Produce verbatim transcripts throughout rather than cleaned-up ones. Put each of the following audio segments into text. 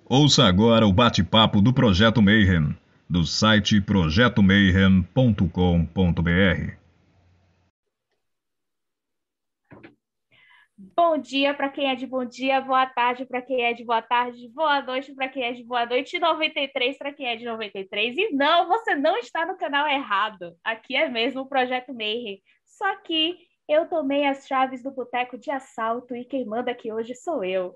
Ouça agora o bate-papo do Projeto Mayhem, do site projeto mayhem ponto com ponto br. Bom dia para quem é de bom dia, boa tarde para quem é de boa tarde, boa noite para quem é de boa noite, noventa e três para quem é de noventa e três. E não, você não está no canal errado. Aqui é mesmo o Projeto Mayhem. Só que eu tomei as chaves do boteco de assalto e quem manda aqui hoje sou eu.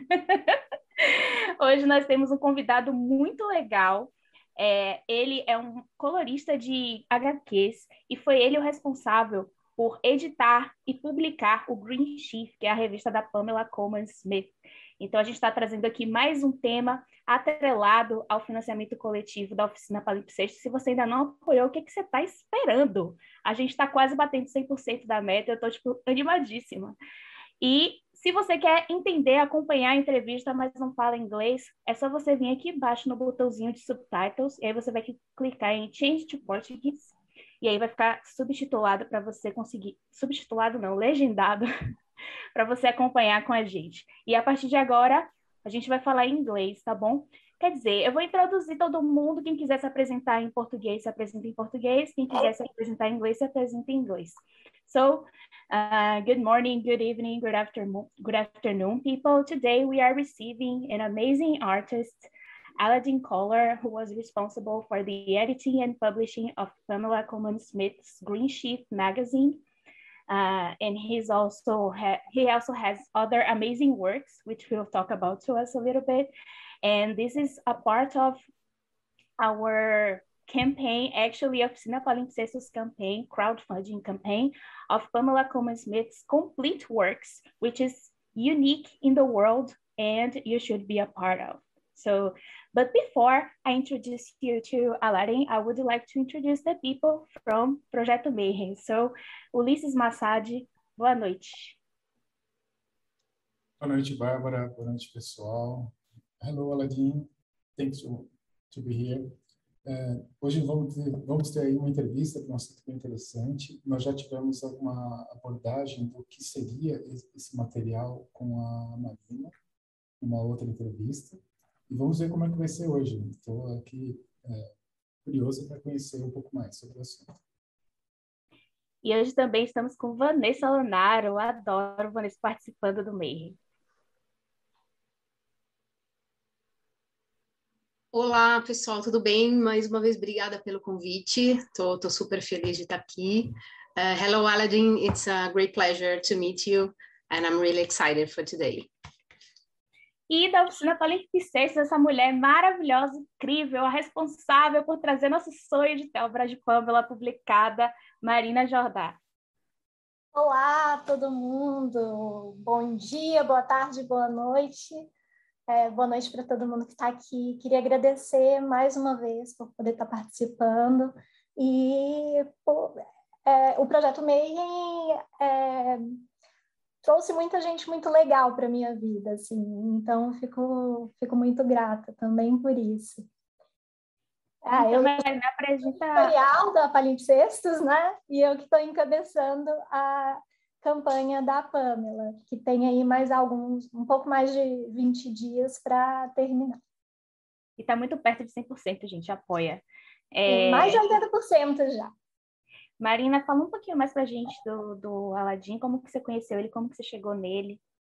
Hoje nós temos um convidado muito legal. É, ele é um colorista de H Qs e foi ele o responsável por editar e publicar o Green Sheaf, que é a revista da Pamela Colman Smith. Então, a gente está trazendo aqui mais um tema atrelado ao financiamento coletivo da Oficina Palimpsesto. Se você ainda não apoiou, o que, que você está esperando? A gente está quase batendo cem por cento da meta, eu estou tipo, animadíssima. E se você quer entender, acompanhar a entrevista, mas não fala inglês, é só você vir aqui embaixo no botãozinho de subtitles, e aí você vai clicar em Change to Portuguese, e aí vai ficar subtitulado para você conseguir, subtitulado não, legendado, para você acompanhar com a gente. E a partir de agora, a gente vai falar em inglês, tá bom? Quer dizer, eu vou introduzir todo mundo, quem quiser se apresentar em português, se apresenta em português, quem quiser se apresentar em inglês, se apresenta em inglês. So, uh, good morning, good evening, good afternoon, good afternoon, people. Today we are receiving an amazing artist, Aladdin Kohler, who was responsible for the editing and publishing of Pamela Colman Smith's Green Sheaf magazine. Uh, and he's also ha- he also has other amazing works, which we'll talk about to us a little bit. And this is a part of our campaign, actually, Oficina Palimpsestos campaign, crowdfunding campaign of Pamela Colman Smith's complete works, which is unique in the world and you should be a part of. So, but before I introduce you to Aladdin, I would like to introduce the people from Projeto Mayhem. So, Ulisses Massad, boa noite. Boa noite, Bárbara. Boa noite, pessoal. Hello, Aladdin. Thanks to, to be here. Uh, hoje vamos ter, vamos ter aí uma entrevista com um assunto bem interessante. Nós já tivemos alguma abordagem do que seria esse material com a Marina, uma outra entrevista. E vamos ver como é que vai ser hoje. Estou aqui é, curioso para conhecer um pouco mais sobre o assunto. E hoje também estamos com Vanessa Lonaro. Adoro Vanessa participando do Mayhem. Olá, pessoal, tudo bem? Mais uma vez, obrigada pelo convite. Tô, tô super feliz de estar aqui. Uh, hello, Aladdin. It's a great pleasure to meet you, and I'm really excited for today. E da Oficina Palimpsestos, essa mulher maravilhosa, incrível, a responsável por trazer nosso sonho de ter obra de Pamela publicada, Marina Jordá. Olá, todo mundo. Bom dia, boa tarde, boa noite. É, boa noite para todo mundo que está aqui. Queria agradecer mais uma vez por poder estar participando. E por, é, o Projeto Mayhem é, trouxe muita gente muito legal para a minha vida, assim. Então, fico, fico muito grata também por isso. Ah, eu me apresenta... editorial da Palimpsestos, né? E eu que estou encabeçando a campanha da Pamela, que tem aí mais alguns, um pouco mais de vinte dias para terminar. E está muito perto de cem por cento, gente, apoia. É... Mais de oitenta por cento já. Marina, fala um pouquinho mais para a gente do, do Aladdin, como que você conheceu ele, como que você chegou nele?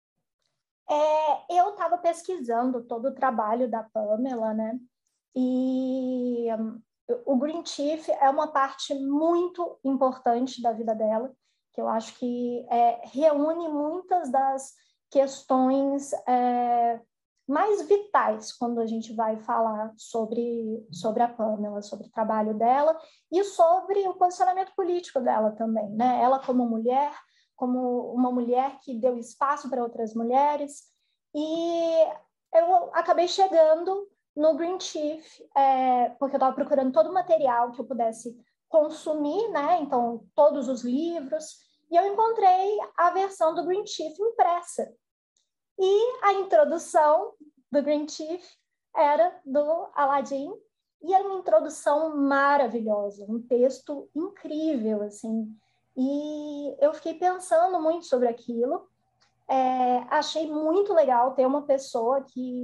É, eu estava pesquisando todo o trabalho da Pamela, né? E um, o Green Sheaf é uma parte muito importante da vida dela, que eu acho que é, reúne muitas das questões é, mais vitais quando a gente vai falar sobre, sobre a Pamela, sobre o trabalho dela e sobre o posicionamento político dela também, né? Ela como mulher, como uma mulher que deu espaço para outras mulheres, e eu acabei chegando no Green Sheaf, é, porque eu estava procurando todo o material que eu pudesse consumir, né? Então, todos os livros, e eu encontrei a versão do Green Sheaf impressa. E a introdução do Green Sheaf era do Aladdin, e era uma introdução maravilhosa, um texto incrível, assim. E eu fiquei pensando muito sobre aquilo, é, achei muito legal ter uma pessoa que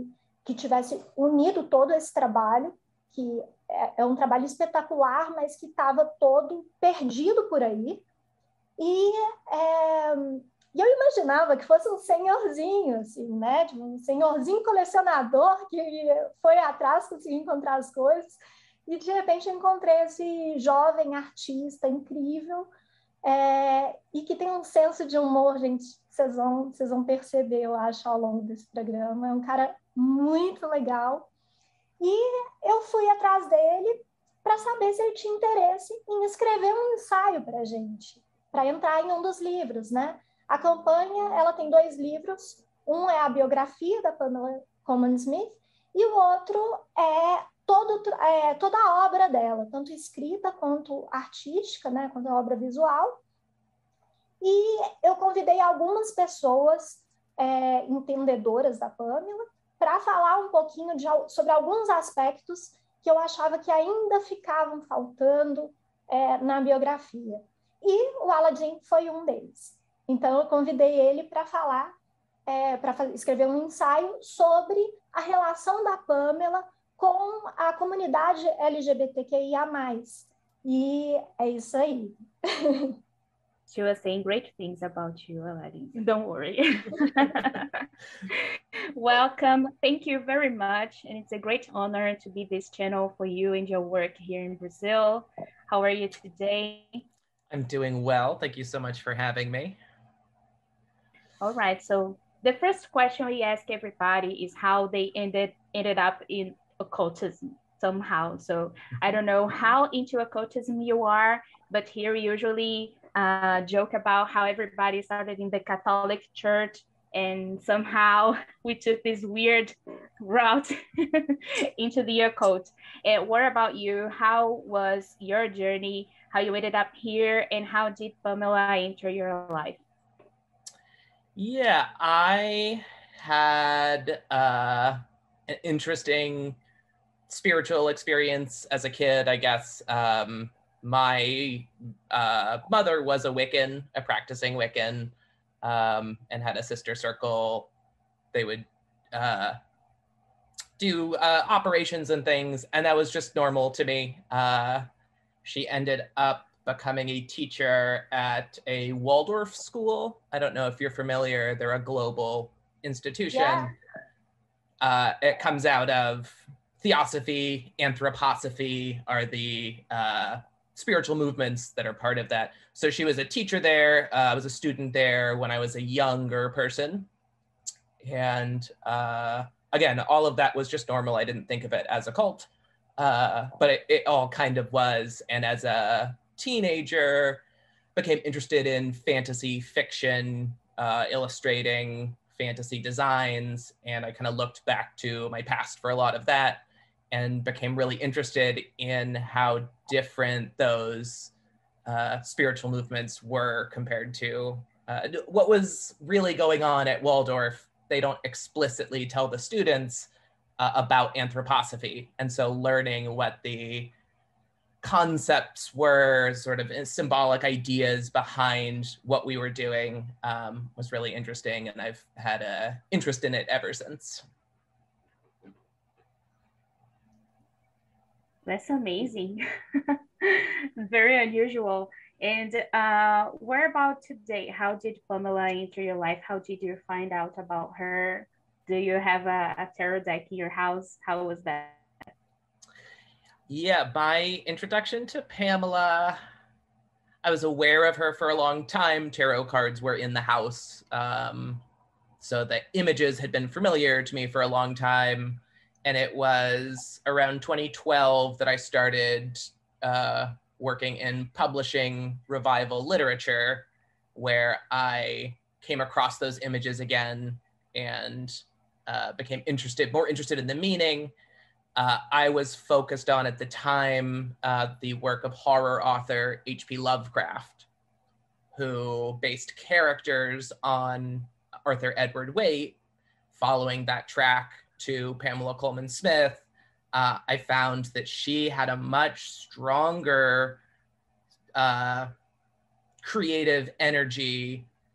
que tivesse unido todo esse trabalho, que é, é um trabalho espetacular, mas que estava todo perdido por aí. E, é, e eu imaginava que fosse um senhorzinho, assim, né? Tipo, um senhorzinho colecionador que foi atrás, conseguiu encontrar as coisas. E, de repente, eu encontrei esse jovem artista incrível, é, e que tem um senso de humor, gente, vocês vão, vocês vão perceber, eu acho, ao longo desse programa. É um cara muito legal. E eu fui atrás dele para saber se ele tinha interesse em escrever um ensaio para a gente, para entrar em um dos livros, né? A campanha, ela tem dois livros. Um é a biografia da Pamela Colman Smith e o outro é, todo, é toda a obra dela, tanto escrita quanto artística, né? Quanto a obra visual. E eu convidei algumas pessoas é, entendedoras da Pamela para falar um pouquinho de, sobre alguns aspectos que eu achava que ainda ficavam faltando é, na biografia. E o Aladdin foi um deles. Então, eu convidei ele para falar, é, para escrever um ensaio sobre a relação da Pamela com a comunidade L G B T Q I A mais. E é isso aí. She was saying great things about you, Aladdin. Don't worry. Welcome. Thank you very much. And it's a great honor to be this channel for you and your work here in Brazil. How are you today? I'm doing well. Thank you so much for having me. All right. So the first question we ask everybody is how they ended ended up in occultism somehow. So I don't know how into occultism you are, but here we usually uh, joke about how everybody started in the Catholic Church and somehow we took this weird route into the occult. And what about you? How was your journey? How you ended up here, and how did Pamela enter your life? Yeah, I had uh, an interesting spiritual experience as a kid, I guess. Um, my uh, mother was a Wiccan, a practicing Wiccan, um, and had a sister circle. They would uh, do uh, operations and things, and that was just normal to me. Uh, she ended up becoming a teacher at a Waldorf school. I don't know if you're familiar, they're a global institution. Yeah. Uh, it comes out of Theosophy, Anthroposophy are the uh, spiritual movements that are part of that. So she was a teacher there. Uh, I was a student there when I was a younger person. And uh, again, all of that was just normal. I didn't think of it as a cult, uh, but it, it all kind of was. And as a teenager, became interested in fantasy fiction, uh, illustrating fantasy designs. And I kind of looked back to my past for a lot of that and became really interested in how different those uh, spiritual movements were compared to uh, what was really going on at Waldorf. They don't explicitly tell the students uh, about anthroposophy. And so learning what the concepts were, sort of symbolic ideas behind what we were doing um, was really interesting. And I've had an interest in it ever since. That's amazing. Very unusual. And uh, where about today? How did Pamela enter your life? How did you find out about her? Do you have a, a tarot deck in your house? How was that? Yeah, my introduction to Pamela, I was aware of her for a long time. Tarot cards were in the house. Um, so the images had been familiar to me for a long time. And it was around twenty twelve that I started uh, working in publishing revival literature, where I came across those images again and uh, became interested, more interested in the meaning. Uh, I was focused on, at the time, uh, the work of horror author H P Lovecraft, who based characters on Arthur Edward Waite. Following that track to Pamela Colman Smith, uh, I found that she had a much stronger uh, creative energy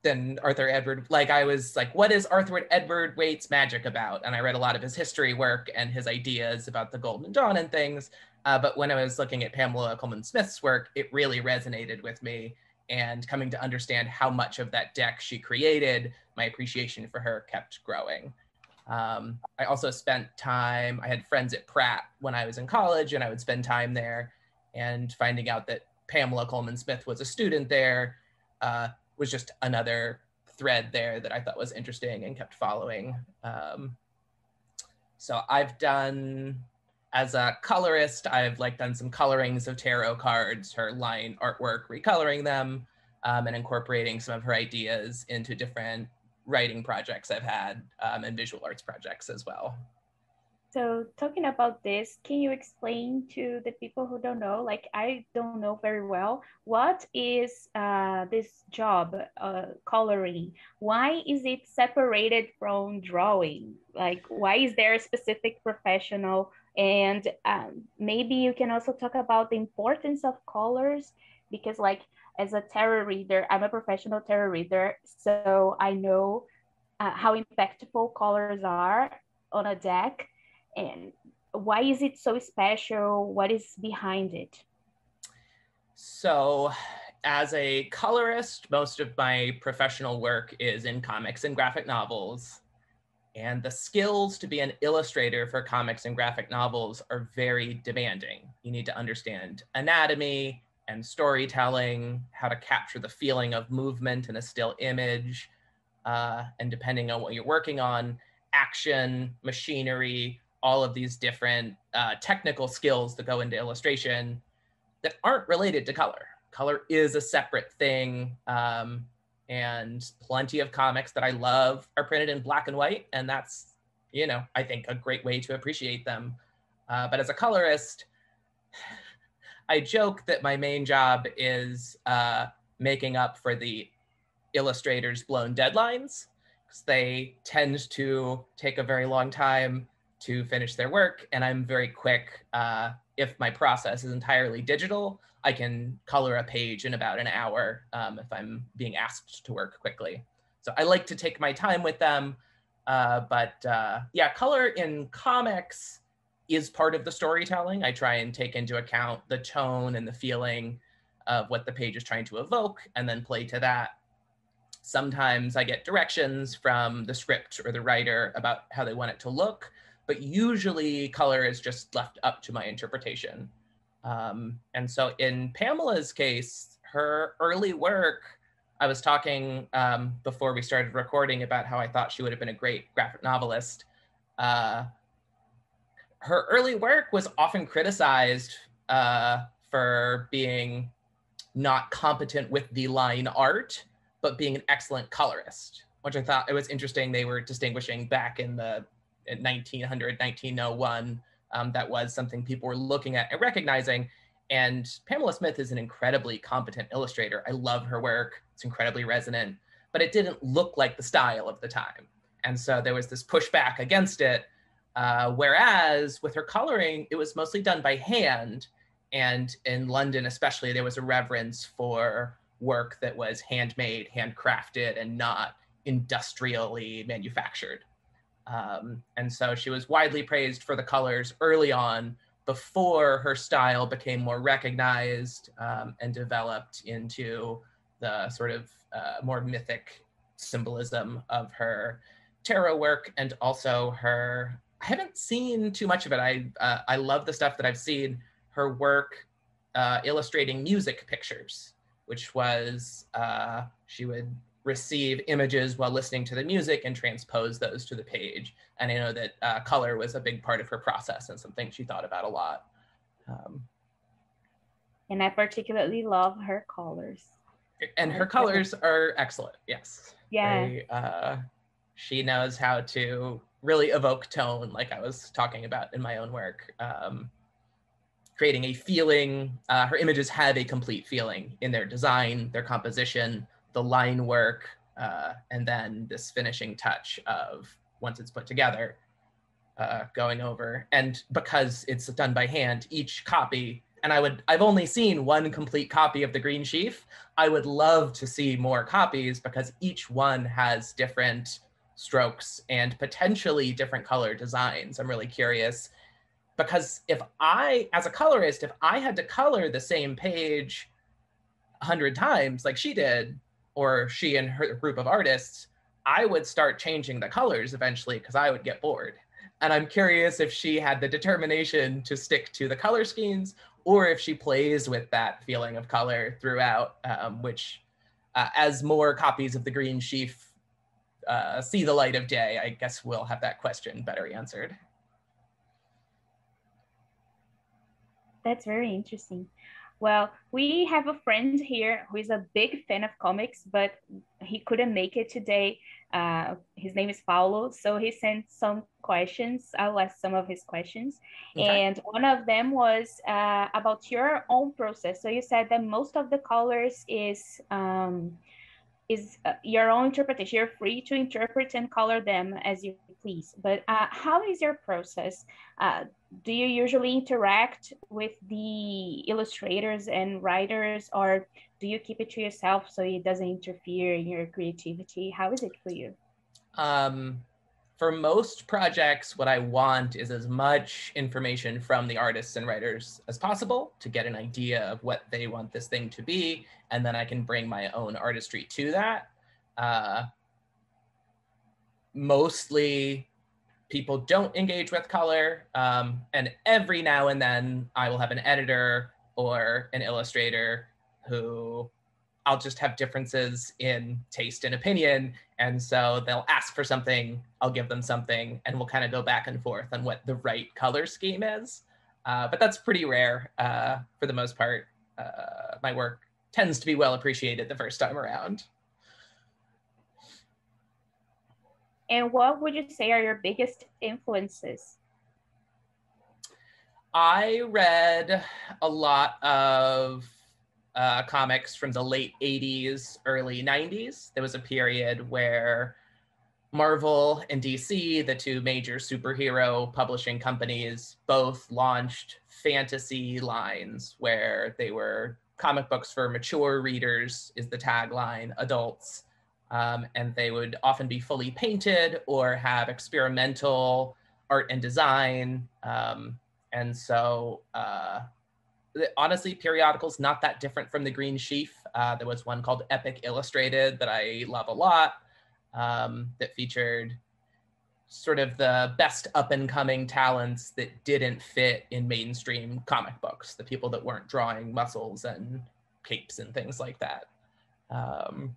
than Arthur Edward. Like I was like, what is Arthur Edward Waite's magic about? And I read a lot of his history work and his ideas about the Golden Dawn and things. Uh, but when I was looking at Pamela Colman Smith's work, it really resonated with me. And coming to understand how much of that deck she created, my appreciation for her kept growing. Um, I also spent time, I had friends at Pratt when I was in college, and I would spend time there, and finding out that Pamela Colman Smith was a student there uh, was just another thread there that I thought was interesting and kept following. Um, so I've done, as a colorist, I've like done some colorings of tarot cards, her line artwork, recoloring them, um, and incorporating some of her ideas into different writing projects I've had, um, and visual arts projects as well. So talking about this, can you explain to the people who don't know, like I don't know very well, what is uh, this job, uh, coloring? Why is it separated from drawing? Like, why is there a specific professional? And um, maybe you can also talk about the importance of colors, because like as a tarot reader, I'm a professional tarot reader, so I know uh, how impactful colors are on a deck. And why is it so special? What is behind it? So as a colorist, most of my professional work is in comics and graphic novels. And the skills to be an illustrator for comics and graphic novels are very demanding. You need to understand anatomy and storytelling, how to capture the feeling of movement in a still image, uh, and depending on what you're working on, action, machinery, all of these different uh, technical skills that go into illustration that aren't related to color. Color is a separate thing, um, and plenty of comics that I love are printed in black and white, and that's, you know, I think a great way to appreciate them. Uh, but as a colorist, I joke that my main job is uh, making up for the illustrators' blown deadlines, because they tend to take a very long time to finish their work, and I'm very quick. Uh, if my process is entirely digital, I can color a page in about an hour um, if I'm being asked to work quickly. So I like to take my time with them, uh, but uh, yeah, color in comics is part of the storytelling. I try and take into account the tone and the feeling of what the page is trying to evoke, and then play to that. Sometimes I get directions from the script or the writer about how they want it to look, but usually color is just left up to my interpretation. Um, and so in Pamela's case, her early work, I was talking um, before we started recording about how I thought she would have been a great graphic novelist. Uh, her early work was often criticized uh, for being not competent with the line art, but being an excellent colorist, which I thought it was interesting. They were distinguishing back in the in nineteen hundred, nineteen oh one, um, that was something people were looking at and recognizing. And Pamela Smith is an incredibly competent illustrator. I love her work. It's incredibly resonant, but it didn't look like the style of the time. And so there was this pushback against it. Uh, whereas with her coloring, it was mostly done by hand. And in London, especially, there was a reverence for work that was handmade, handcrafted, and not industrially manufactured. Um, and so she was widely praised for the colors early on, before her style became more recognized um, and developed into the sort of uh, more mythic symbolism of her tarot work, and also her, I haven't seen too much of it. I, uh, I love the stuff that I've seen, her work uh, illustrating music pictures, which was, uh, she would receive images while listening to the music and transpose those to the page. And I know that uh, color was a big part of her process and something she thought about a lot. Um, and I particularly love her colors. And her colors are excellent, yes. Yeah. They, uh, she knows how to really evoke tone, like I was talking about in my own work. Um, creating a feeling, uh, her images have a complete feeling in their design, their composition, the line work, uh, and then this finishing touch of, once it's put together, uh, going over. And because it's done by hand, each copy and I would, I've only seen one complete copy of the Green Sheaf. I would love to see more copies because each one has different strokes and potentially different color designs. I'm really curious because if I, as a colorist, if I had to color the same page a hundred times like she did, or she and her group of artists, I would start changing the colors eventually because I would get bored. And I'm curious if she had the determination to stick to the color schemes or if she plays with that feeling of color throughout, um, which uh, as more copies of the Green Sheaf uh, see the light of day, I guess we'll have that question better answered. That's very interesting. Well, we have a friend here who is a big fan of comics, but he couldn't make it today. Uh, his name is Paulo, so he sent some questions. I'll ask some of his questions. Okay. And one of them was uh, about your own process. So you said that most of the colors is um, is uh, your own interpretation. You're free to interpret and color them as you please. But uh, how is your process? Uh, do you usually interact with the illustrators and writers, or do you keep it to yourself so it doesn't interfere in your creativity? How is it for you? Um, for most projects, what I want is as much information from the artists and writers as possible to get an idea of what they want this thing to be, and then I can bring my own artistry to that. Uh, mostly, people don't engage with color, um, and every now and then I will have an editor or an illustrator who I'll just have differences in taste and opinion, and so they'll ask for something, I'll give them something, and we'll kind of go back and forth on what the right color scheme is. Uh, but that's pretty rare uh, for the most part. Uh, my work tends to be well appreciated the first time around. And what would you say are your biggest influences? I read a lot of uh, comics from the late eighties, early nineties. There was a period where Marvel and D C, the two major superhero publishing companies, both launched fantasy lines where they were comic books for mature readers is the tagline, adults. Um, and they would often be fully painted or have experimental art and design. Um, and so uh, honestly, periodicals not that different from the Green Sheaf. Uh, there was one called Epic Illustrated that I love a lot um, that featured sort of the best up and coming talents that didn't fit in mainstream comic books, the people that weren't drawing muscles and capes and things like that. Um,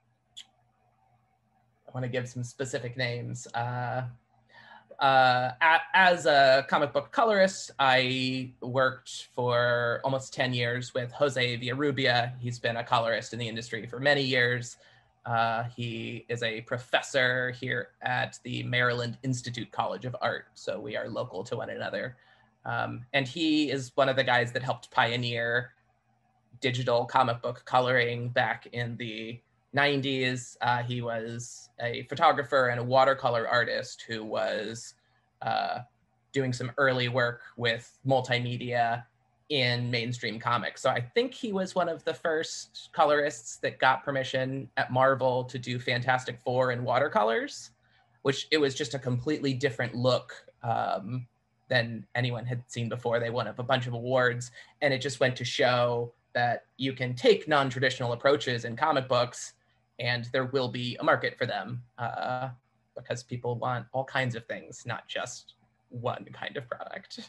I want to give some specific names. Uh, uh, as a comic book colorist, I worked for almost ten years with Jose Villarrubia. He's been a colorist in the industry for many years. Uh, he is a professor here at the Maryland Institute College of Art, so we are local to one another. Um, and he is one of the guys that helped pioneer digital comic book coloring back in the nineties. Uh, he was a photographer and a watercolor artist who was uh, doing some early work with multimedia in mainstream comics. So I think he was one of the first colorists that got permission at Marvel to do Fantastic Four in watercolors, which it was just a completely different look um, than anyone had seen before. They won up a bunch of awards, and it just went to show that you can take non-traditional approaches in comic books and there will be a market for them uh, because people want all kinds of things, not just one kind of product.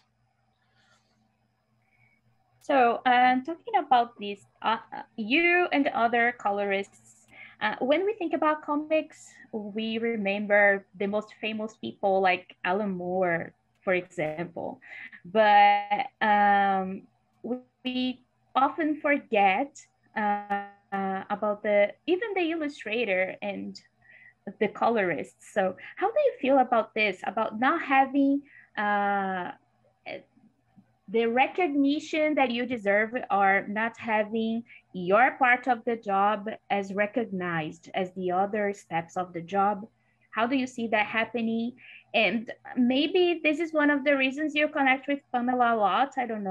So uh, talking about this, uh, you and other colorists, uh, when we think about comics, we remember the most famous people like Alan Moore, for example, but um, we often forget uh, uh, about the even the illustrator and the colorist. So how do you feel about this, about not having uh, the recognition that you deserve, or not having your part of the job as recognized as the other steps of the job? How do you see that happening? And maybe this is one of the reasons you connect with Pamela a lot, I don't know.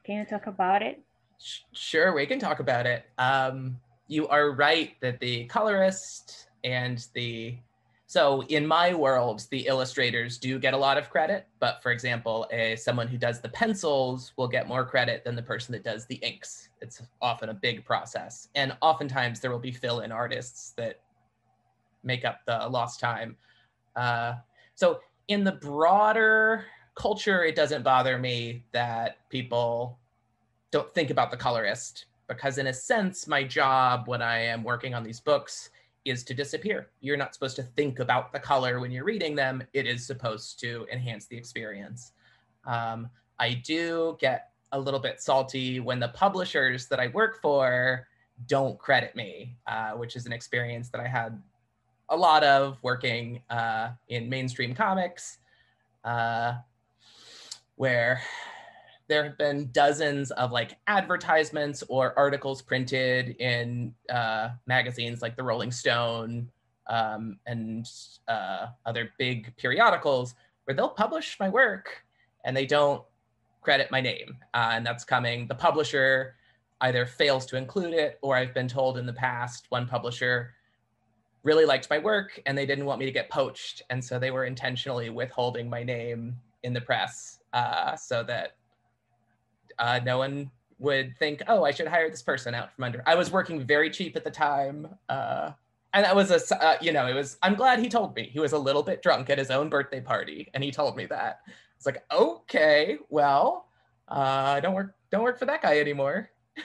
Can you talk about it? Sure, we can talk about it. Um, you are right that the colorist and the, so in my world, the illustrators do get a lot of credit, but for example, a, someone who does the pencils will get more credit than the person that does the inks. It's often a big process. And oftentimes there will be fill-in artists that make up the lost time. Uh, so in the broader culture, it doesn't bother me that people don't think about the colorist, because in a sense, my job when I am working on these books is to disappear. You're not supposed to think about the color when you're reading them. It is supposed to enhance the experience. Um, I do get a little bit salty when the publishers that I work for don't credit me, uh, which is an experience that I had a lot of working uh, in mainstream comics, uh, where there have been dozens of like advertisements or articles printed in uh, magazines like the Rolling Stone um, and uh, other big periodicals where they'll publish my work and they don't credit my name. Uh, and that's coming, the publisher either fails to include it, or I've been told in the past, one publisher really liked my work and they didn't want me to get poached. And so they were intentionally withholding my name in the press uh, so that Uh, no one would think, oh, I should hire this person out from under. I was working very cheap at the time. Uh, and that was a, uh, you know, it was, I'm glad he told me. He was a little bit drunk at his own birthday party and he told me that. It's like, okay, well, uh, don't work, don't work for that guy anymore.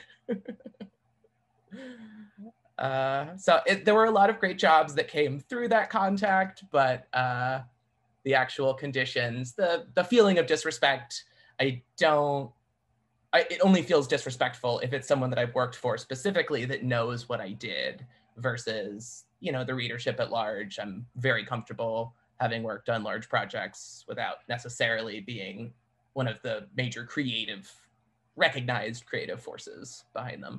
uh, so it, there were a lot of great jobs that came through that contact, but uh, the actual conditions, the, the feeling of disrespect, I don't, I, it only feels disrespectful if it's someone that I've worked for specifically that knows what I did versus, you know, the readership at large. I'm very comfortable having worked on large projects without necessarily being one of the major creative, recognized creative forces behind them.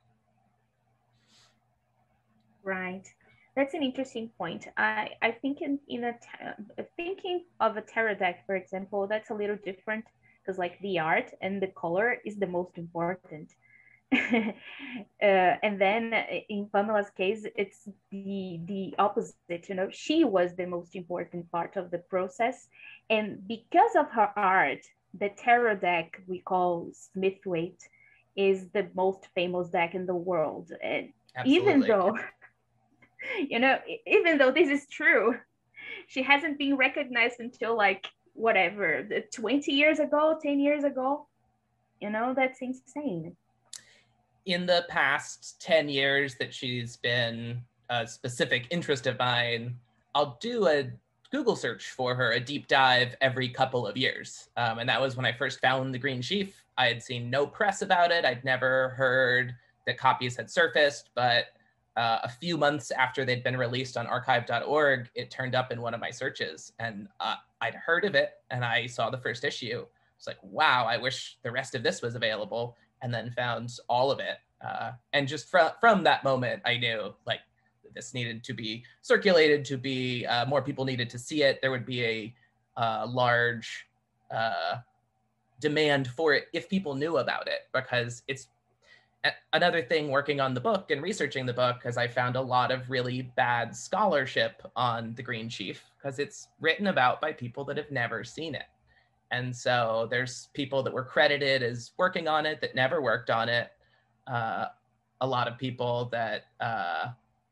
Right. That's an interesting point. I, I think in, in a thinking of a tarot deck, for example, that's a little different, because like the art and the color is the most important. uh, and then in Pamela's case, it's the the opposite. You know, she was the most important part of the process, and because of her art, the tarot deck we call Smithwaite is the most famous deck in the world. And Absolutely. even though, you know, even though this is true, she hasn't been recognized until like whatever, twenty years ago, ten years ago. You know, that's insane. In the past ten years that she's been a specific interest of mine, I'll do a Google search for her, a deep dive every couple of years. Um, and that was when I first found The Green Sheaf. I had seen no press about it. I'd never heard that copies had surfaced, but uh, a few months after they'd been released on archive dot org, it turned up in one of my searches, and uh, I'd heard of it and I saw the first issue. It's like, wow, I wish the rest of this was available, and then found all of it. Uh, and just from, from that moment, I knew like this needed to be circulated, to be, uh, more people needed to see it. There would be a uh, large uh, demand for it if people knew about it, because it's another thing working on the book and researching the book, because I found a lot of really bad scholarship on The Green Sheaf, because it's written about by people that have never seen it. And so there's people that were credited as working on it that never worked on it. Uh, a lot of people that, uh,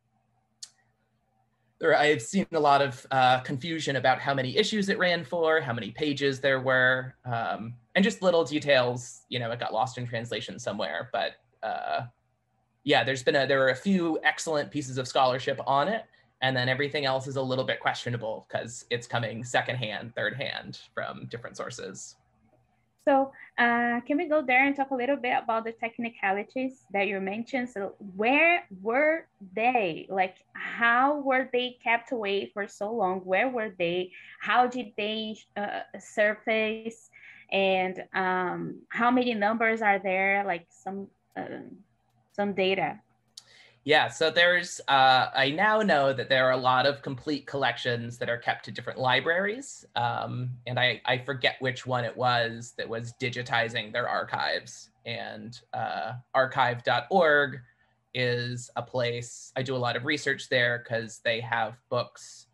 there, I've seen a lot of uh, confusion about how many issues it ran for, how many pages there were, um, and just little details, you know, it got lost in translation somewhere. But uh, yeah, there's been a, there were a few excellent pieces of scholarship on it, and then everything else is a little bit questionable because it's coming secondhand, third hand from different sources. So uh, can we go there and talk a little bit about the technicalities that you mentioned? So where were they? Like, how were they kept away for so long? Where were they? How did they uh, surface? And um, how many numbers are there? Like some uh, some data. Yeah, so there's, uh, I now know that there are a lot of complete collections that are kept at different libraries. Um, and I, I forget which one it was that was digitizing their archives. And uh, archive dot org is a place, I do a lot of research there because they have books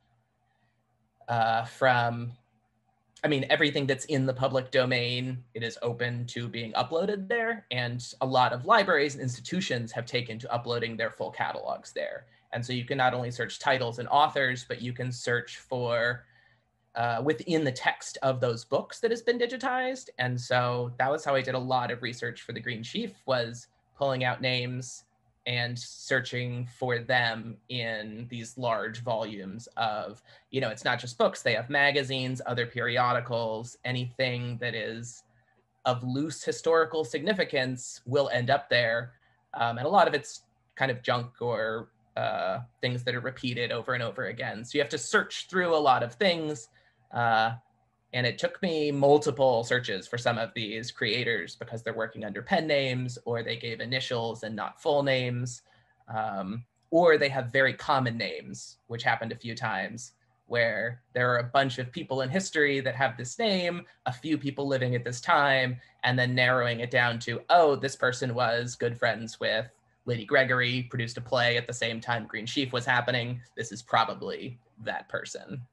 uh, from, I mean, everything that's in the public domain, it is open to being uploaded there. And a lot of libraries and institutions have taken to uploading their full catalogs there. And so you can not only search titles and authors, but you can search for uh, within the text of those books that has been digitized. And so that was how I did a lot of research for the Green Sheaf, was pulling out names and searching for them in these large volumes of, you know, it's not just books, they have magazines, other periodicals, anything that is of loose historical significance will end up there. Um, and a lot of it's kind of junk or uh, things that are repeated over and over again. So you have to search through a lot of things. Uh, And it took me multiple searches for some of these creators because they're working under pen names, or they gave initials and not full names, um, or they have very common names, which happened a few times, where there are a bunch of people in history that have this name, a few people living at this time, and then narrowing it down to, oh, this person was good friends with Lady Gregory, produced a play at the same time Green Sheaf was happening. This is probably that person.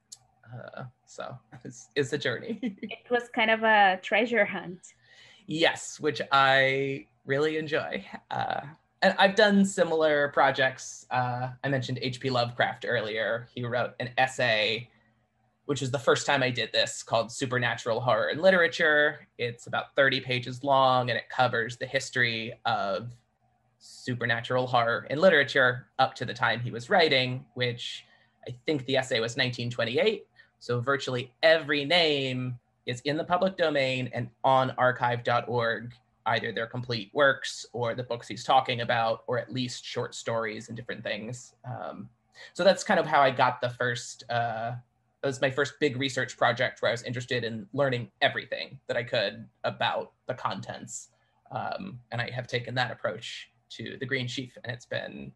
Uh, so it's, it's a journey. It was kind of a treasure hunt. Yes, which I really enjoy. Uh, and I've done similar projects. Uh, I mentioned H P Lovecraft earlier. He wrote an essay, which is the first time I did this, called Supernatural Horror in Literature. It's about thirty pages long, and it covers the history of supernatural horror in literature up to the time he was writing, which I think the essay was nineteen twenty-eight. So virtually every name is in the public domain and on archive dot org, either their complete works or the books he's talking about, or at least short stories and different things. Um, so that's kind of how I got the first, uh, that was my first big research project where I was interested in learning everything that I could about the contents. Um, and I have taken that approach to the Green Sheaf, and it's been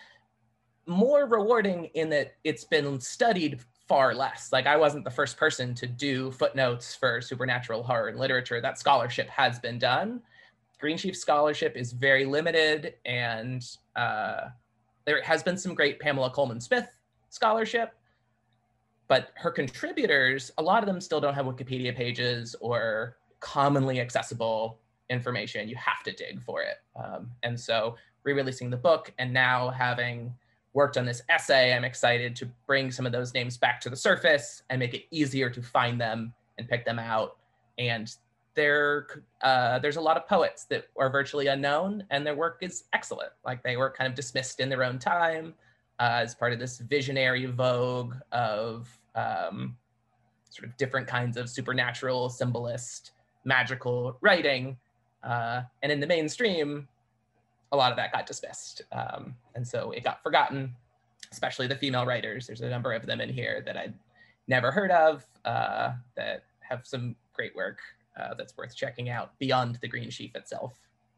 more rewarding in that it's been studied far less. Like, I wasn't the first person to do footnotes for supernatural horror in literature. That scholarship has been done. Green Sheaf scholarship is very limited, and uh, there has been some great Pamela Coleman Smith scholarship, but her contributors, a lot of them still don't have Wikipedia pages or commonly accessible information. You have to dig for it. Um, and so re-releasing the book and now having worked on this essay, I'm excited to bring some of those names back to the surface and make it easier to find them and pick them out. And there, uh, there's a lot of poets that are virtually unknown, and their work is excellent. Like, they were kind of dismissed in their own time uh, as part of this visionary vogue of um, sort of different kinds of supernatural, symbolist, magical writing. Uh, and in the mainstream, a lot of that got dismissed. Um, and so it got forgotten, especially the female writers. There's a number of them in here that I'd never heard of uh, that have some great work uh, that's worth checking out beyond the Green Sheaf itself.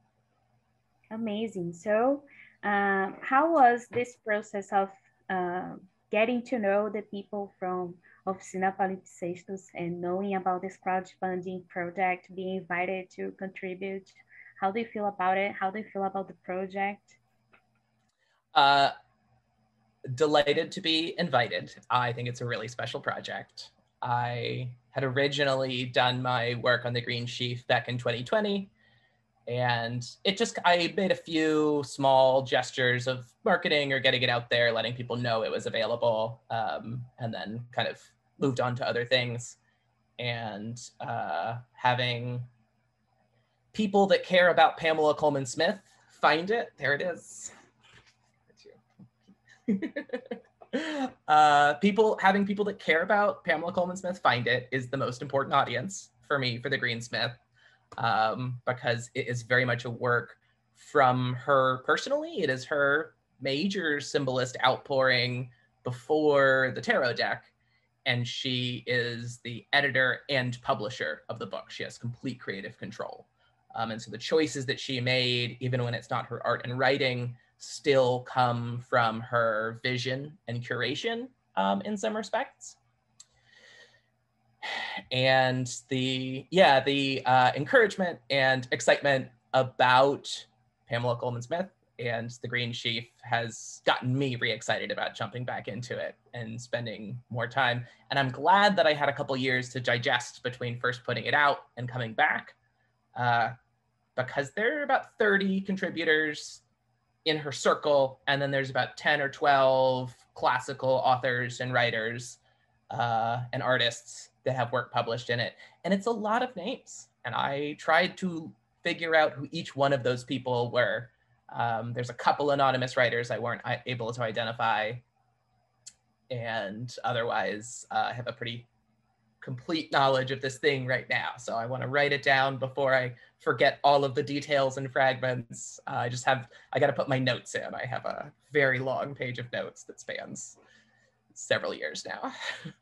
Amazing. So um, how was this process of uh, getting to know the people from Oficina Palimpsestos and knowing about this crowdfunding project, being invited to contribute? How do you feel about it? How do you feel about the project? Uh, delighted to be invited. I think it's a really special project. I had originally done my work on the Green Sheaf back in twenty twenty, and it just, I made a few small gestures of marketing or getting it out there, letting people know it was available, um, and then kind of moved on to other things. And uh, having people that care about Pamela Coleman Smith find it. There it is. uh, people having people that care about Pamela Coleman Smith find it is the most important audience for me for the Greensmith, um, because it is very much a work from her personally. It is her major symbolist outpouring before the tarot deck, and she is the editor and publisher of the book. She has complete creative control. Um, and so the choices that she made, even when it's not her art and writing, still come from her vision and curation um, in some respects. And the, yeah, the uh, encouragement and excitement about Pamela Colman-Smith and The Green Sheaf has gotten me re-excited about jumping back into it and spending more time. And I'm glad that I had a couple years to digest between first putting it out and coming back, uh, because there are about thirty contributors in her circle, and then there's about ten or twelve classical authors and writers uh, and artists that have work published in it. And it's a lot of names. And I tried to figure out who each one of those people were. Um, there's a couple anonymous writers I weren't able to identify. And otherwise, uh, I have a pretty complete knowledge of this thing right now. So I want to write it down before I forget all of the details and fragments. Uh, I just have, I got to put my notes in. I have a very long page of notes that spans several years now.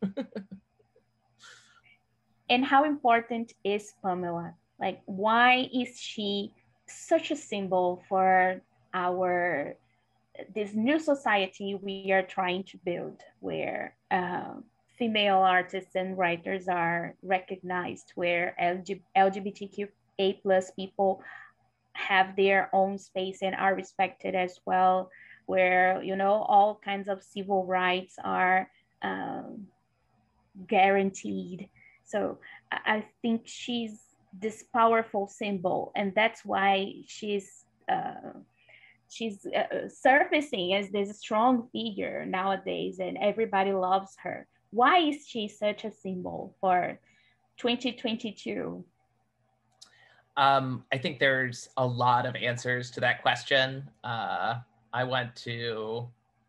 And how important is Pamela? Like, why is she such a symbol for our, this new society we are trying to build, where uh, female artists and writers are recognized, where L G B T Q A plus people have their own space and are respected as well, where, you know, all kinds of civil rights are um, guaranteed. So I think she's this powerful symbol, and that's why she's uh, she's uh, surfacing as this strong figure nowadays, and everybody loves her. Why is she such a symbol for twenty twenty-two? Um, I think there's a lot of answers to that question. Uh, I want to,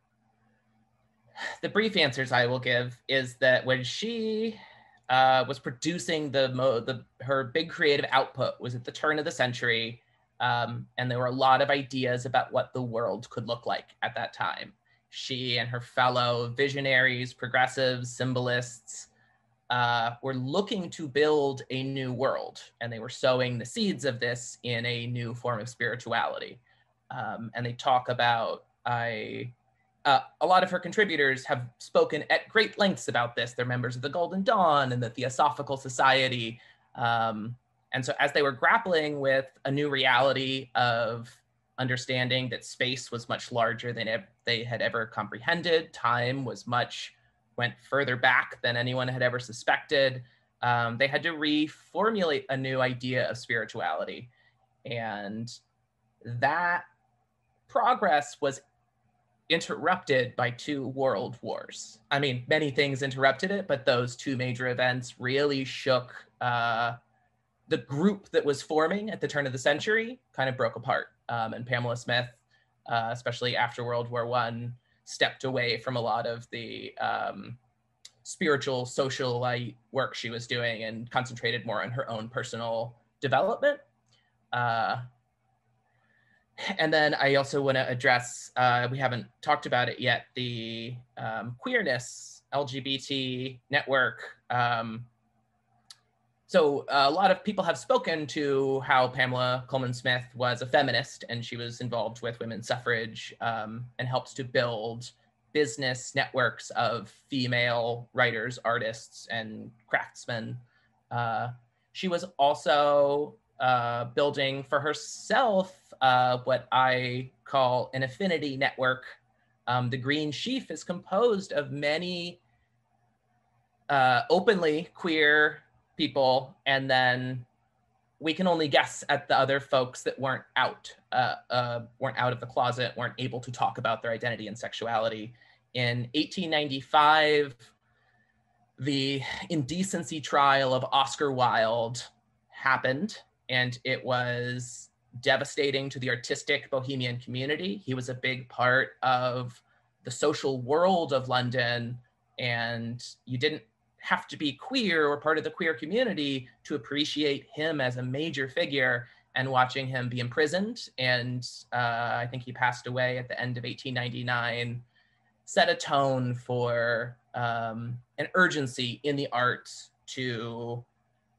the brief answers I will give is that when she uh, was producing the, mo the, her big creative output was at the turn of the century, um, and there were a lot of ideas about what the world could look like at that time. She and her fellow visionaries, progressives, symbolists, uh, were looking to build a new world, and they were sowing the seeds of this in a new form of spirituality. Um, and they talk about, I, uh, a lot of her contributors have spoken at great lengths about this. They're members of the Golden Dawn and the Theosophical Society. Um, and so as they were grappling with a new reality of understanding that space was much larger than they had ever comprehended, time was much, went further back than anyone had ever suspected, um, they had to reformulate a new idea of spirituality. And that progress was interrupted by two world wars. I mean, many things interrupted it, but those two major events really shook uh, the group that was forming at the turn of the century, kind of broke apart. Um, and Pamela Smith, uh, especially after World War One, stepped away from a lot of the um, spiritual, socialite work she was doing and concentrated more on her own personal development. Uh, and then I also want to address, uh, we haven't talked about it yet, the um, queerness, L G B T network. Um, so a lot of people have spoken to how Pamela Colman-Smith was a feminist, and she was involved with women's suffrage um, and helped to build business networks of female writers, artists, and craftsmen. Uh, she was also uh, building for herself uh, what I call an affinity network. Um, the Green Sheaf is composed of many uh, openly queer people, and then we can only guess at the other folks that weren't out, uh, uh, weren't out of the closet, weren't able to talk about their identity and sexuality. In eighteen ninety-five, the indecency trial of Oscar Wilde happened, and it was devastating to the artistic bohemian community. He was a big part of the social world of London, and you didn't have to be queer or part of the queer community to appreciate him as a major figure. And watching him be imprisoned, and uh, I think he passed away at the end of eighteen ninety-nine, set a tone for um, an urgency in the arts to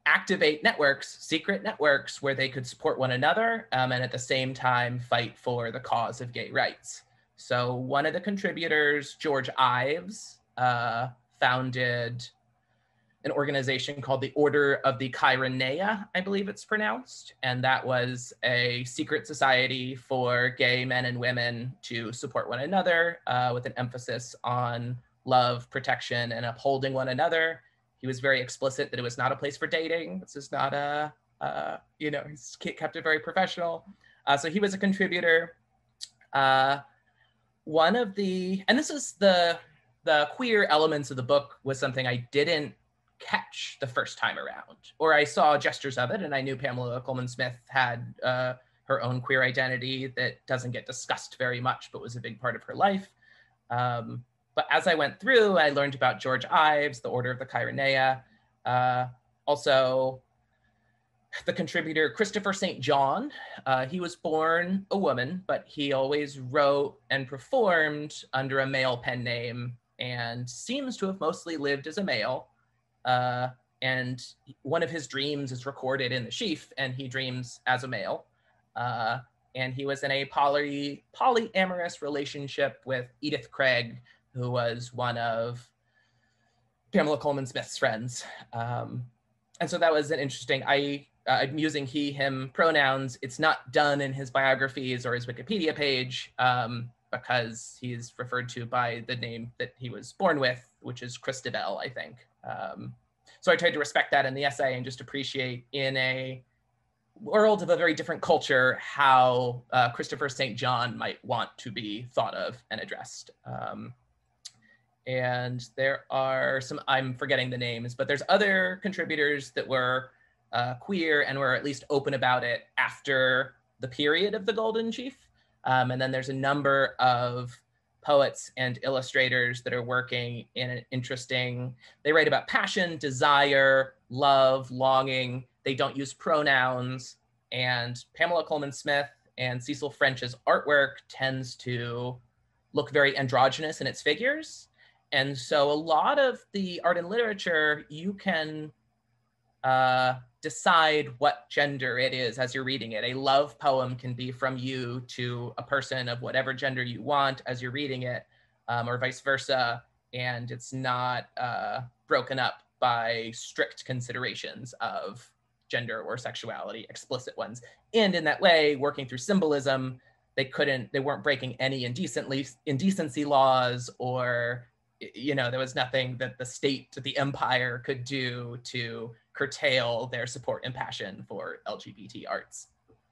activate networks, secret networks, where they could support one another um, and at the same time fight for the cause of gay rights. So one of the contributors, George Ives, uh, founded an organization called the Order of the Chironeia, I believe it's pronounced. And that was a secret society for gay men and women to support one another uh, with an emphasis on love, protection, and upholding one another. He was very explicit that it was not a place for dating. This is not a, uh, you know, he's kept it very professional. Uh, so he was a contributor. Uh, one of the, and this is the, the queer elements of the book was something I didn't catch the first time around, or I saw gestures of it, and I knew Pamela Colman Smith had uh, her own queer identity that doesn't get discussed very much, but was a big part of her life. Um, but as I went through, I learned about George Ives, the Order of the Chironeia, uh, also the contributor Christopher Saint John. Uh, he was born a woman, but he always wrote and performed under a male pen name and seems to have mostly lived as a male. Uh, and one of his dreams is recorded in the sheaf, and he dreams as a male. Uh, and he was in a poly polyamorous relationship with Edith Craig, who was one of Pamela Colman Smith's friends. Um, and so that was an interesting, I, uh, I'm using he, him pronouns. It's not done in his biographies or his Wikipedia page um, because he's referred to by the name that he was born with, which is Christabel, I think. Um, so I tried to respect that in the essay and just appreciate in a world of a very different culture how uh, Christopher Saint John might want to be thought of and addressed. Um, and there are some, I'm forgetting the names, but there's other contributors that were uh, queer and were at least open about it after the period of the Golden Sheaf. Um, and then there's a number of poets and illustrators that are working in an interesting, they write about passion, desire, love, longing. They don't use pronouns. And Pamela Colman Smith and Cecil French's artwork tends to look very androgynous in its figures. And so a lot of the art and literature, you can uh, decide what gender it is as you're reading it. A love poem can be from you to a person of whatever gender you want as you're reading it, um, or vice versa. And it's not uh, broken up by strict considerations of gender or sexuality, explicit ones. And in that way, working through symbolism, they couldn't, they weren't breaking any indecently, indecency laws, or, you know, there was nothing that the state, the empire could do to curtail their support and passion for L G B T arts.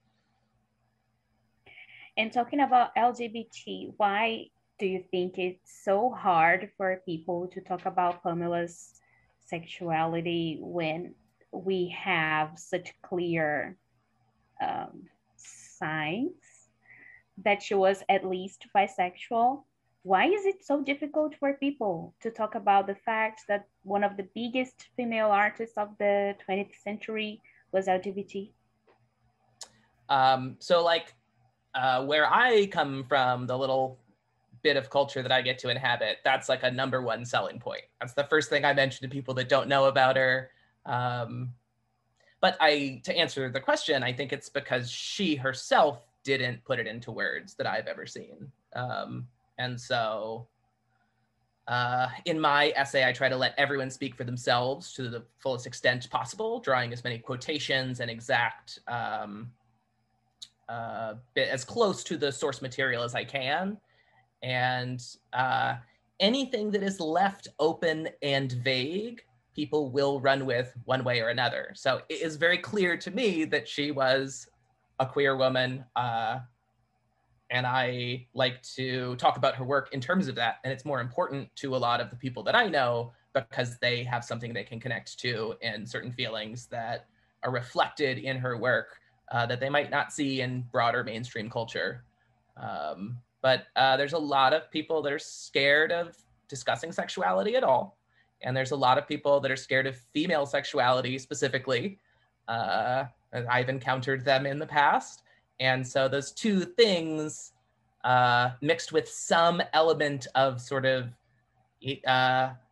And talking about L G B T, why do you think it's so hard for people to talk about Pamela's sexuality when we have such clear um, signs that she was at least bisexual? Why is it so difficult for people to talk about the fact that one of the biggest female artists of the twentieth century was L G B T? Um, so like uh, where I come from, the little bit of culture that I get to inhabit, that's like a number one selling point. That's the first thing I mention to people that don't know about her. Um, but I, to answer the question, I think it's because she herself didn't put it into words that I've ever seen. Um, And so uh, in my essay, I try to let everyone speak for themselves to the fullest extent possible, drawing as many quotations and exact, um, uh, bit as close to the source material as I can. And uh, anything that is left open and vague, people will run with one way or another. So it is very clear to me that she was a queer woman, uh, and I like to talk about her work in terms of that. And it's more important to a lot of the people that I know because they have something they can connect to and certain feelings that are reflected in her work uh, that they might not see in broader mainstream culture. Um, but uh, there's a lot of people that are scared of discussing sexuality at all. And there's a lot of people that are scared of female sexuality specifically. Uh, I've encountered them in the past. And so those two things uh, mixed with some element of sort of uh,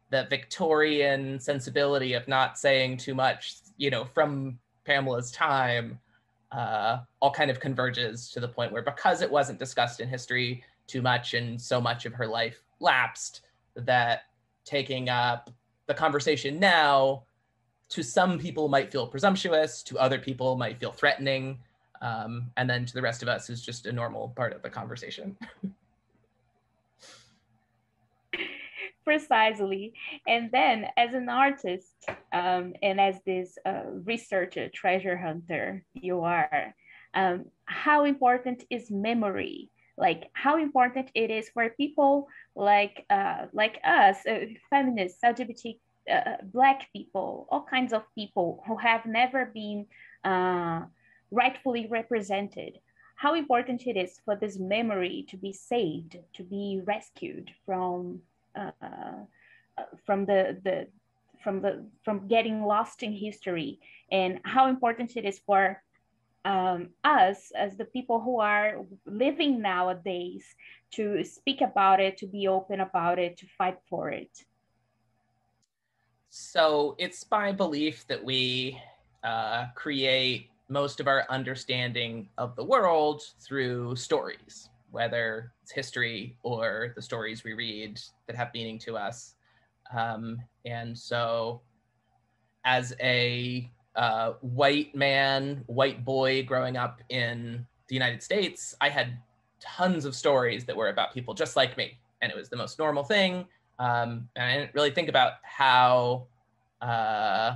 the Victorian sensibility of not saying too much, you know, from Pamela's time, uh, all kind of converges to the point where, because it wasn't discussed in history too much and so much of her life lapsed, that taking up the conversation now, to some people might feel presumptuous, to other people might feel threatening, um, and then to the rest of us is just a normal part of the conversation. Precisely. And then as an artist, um, and as this uh, researcher, treasure hunter you are, um, how important is memory? Like how important it is for people like uh, like us, uh, feminists, L G B T, uh, Black people, all kinds of people who have never been uh, rightfully represented. How important it is for this memory to be saved, to be rescued from uh, from the the from the from getting lost in history, and how important it is for um, us as the people who are living nowadays to speak about it, to be open about it, to fight for it. So it's my belief that we uh, create most of our understanding of the world through stories, whether it's history or the stories we read that have meaning to us. Um, and so as a uh, white man, white boy growing up in the United States, I had tons of stories that were about people just like me. And it was the most normal thing. Um, and I didn't really think about how uh,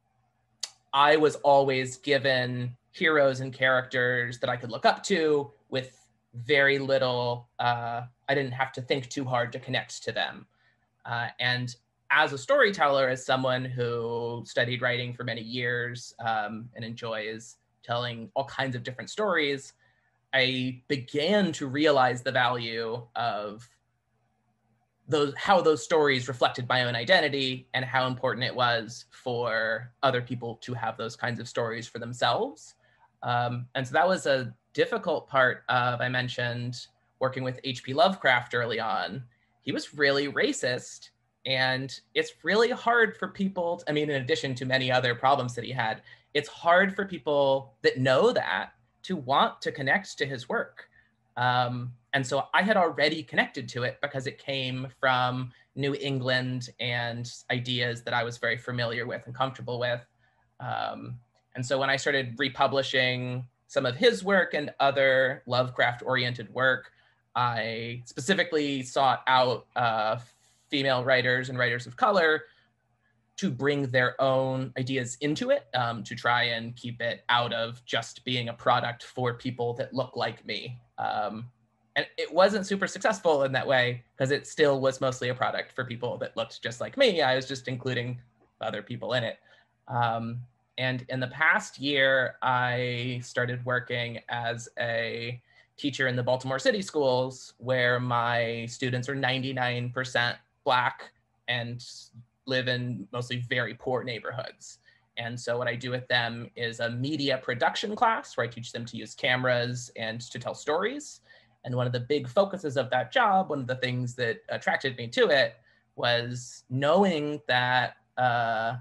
I was always given heroes and characters that I could look up to with very little, uh, I didn't have to think too hard to connect to them. Uh, and as a storyteller, as someone who studied writing for many years um, and enjoys telling all kinds of different stories, I began to realize the value of those, how those stories reflected my own identity and how important it was for other people to have those kinds of stories for themselves. Um, and so that was a difficult part of, I mentioned, working with H P Lovecraft early on. He was really racist, and it's really hard for people, to, I mean, in addition to many other problems that he had, it's hard for people that know that to want to connect to his work. Um, and so I had already connected to it because it came from New England and ideas that I was very familiar with and comfortable with. Um, and so when I started republishing some of his work and other Lovecraft-oriented work, I specifically sought out uh, female writers and writers of color to bring their own ideas into it, um, to try and keep it out of just being a product for people that look like me. Um, and it wasn't super successful in that way because it still was mostly a product for people that looked just like me. I was just including other people in it. Um, and in the past year, I started working as a teacher in the Baltimore City schools, where my students are ninety-nine percent Black and live in mostly very poor neighborhoods. And so what I do with them is a media production class where I teach them to use cameras and to tell stories. And one of the big focuses of that job, one of the things that attracted me to it, was knowing that uh,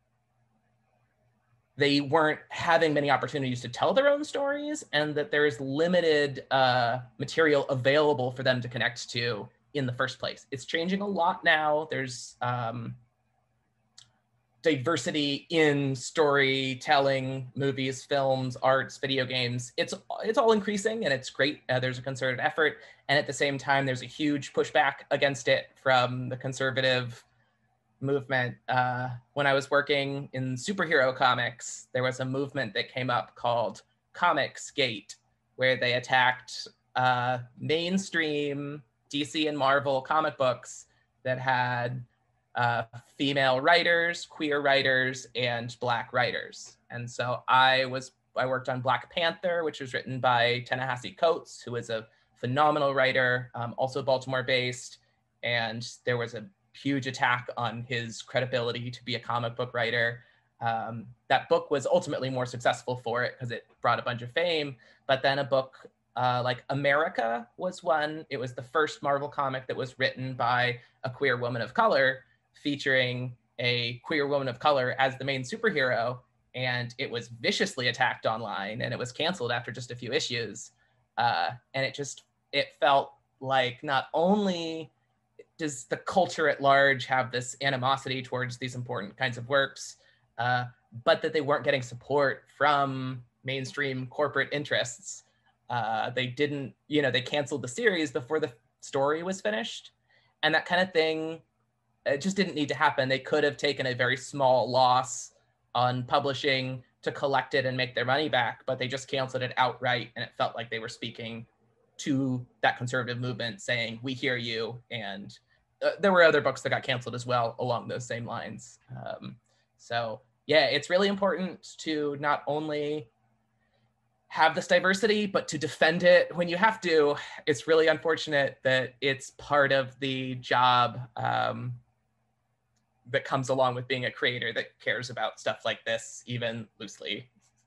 they weren't having many opportunities to tell their own stories, and that there is limited uh, material available for them to connect to in the first place. It's changing a lot now. There's um, diversity in storytelling, movies, films, arts, video games. It's it's all increasing, and it's great. Uh, there's a concerted effort, and at the same time, there's a huge pushback against it from the conservative movement. Uh, when I was working in superhero comics, there was a movement that came up called Comicsgate, where they attacked uh, mainstream D C and Marvel comic books that had uh, female writers, queer writers, and Black writers. And so I was, I worked on Black Panther, which was written by Ta-Nehisi Coates, who is a phenomenal writer, um, also Baltimore-based. And there was a huge attack on his credibility to be a comic book writer. Um, that book was ultimately more successful for it because it brought a bunch of fame. But then a book uh, like America was one. It was the first Marvel comic that was written by a queer woman of color, featuring a queer woman of color as the main superhero, and it was viciously attacked online, and it was canceled after just a few issues. Uh, and it just, it felt like not only does the culture at large have this animosity towards these important kinds of works, uh, but that they weren't getting support from mainstream corporate interests. Uh, they didn't, you know, they canceled the series before the story was finished. And that kind of thing, it just didn't need to happen. They could have taken a very small loss on publishing to collect it and make their money back, but they just canceled it outright. And it felt like they were speaking to that conservative movement saying, we hear you. And uh, there were other books that got canceled as well along those same lines. Um, so yeah, it's really important to not only have this diversity, but to defend it when you have to. It's really unfortunate that it's part of the job um, that comes along with being a creator that cares about stuff like this, even loosely.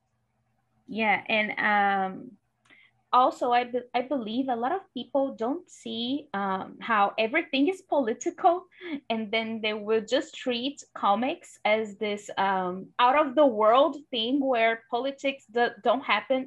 Yeah, and um, also I, be I believe a lot of people don't see um, how everything is political, and then they will just treat comics as this um, out of the world thing where politics do don't happen,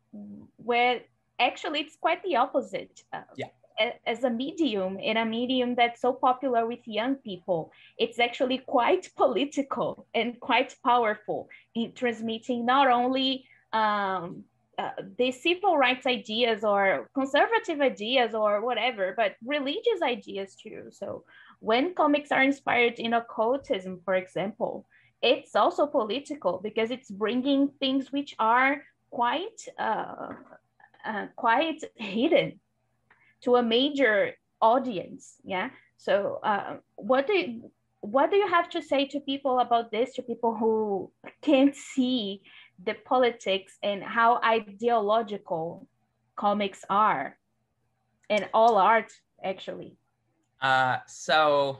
where actually it's quite the opposite. Uh, yeah. As a medium, in a medium that's so popular with young people, it's actually quite political and quite powerful in transmitting not only um, uh, the civil rights ideas or conservative ideas or whatever, but religious ideas too. So when comics are inspired in occultism, for example, it's also political because it's bringing things which are quite, uh, uh, quite hidden to a major audience. Yeah. So uh, what do you, what do you have to say to people about this, to people who can't see the politics and how ideological comics are, and all art actually? Uh, so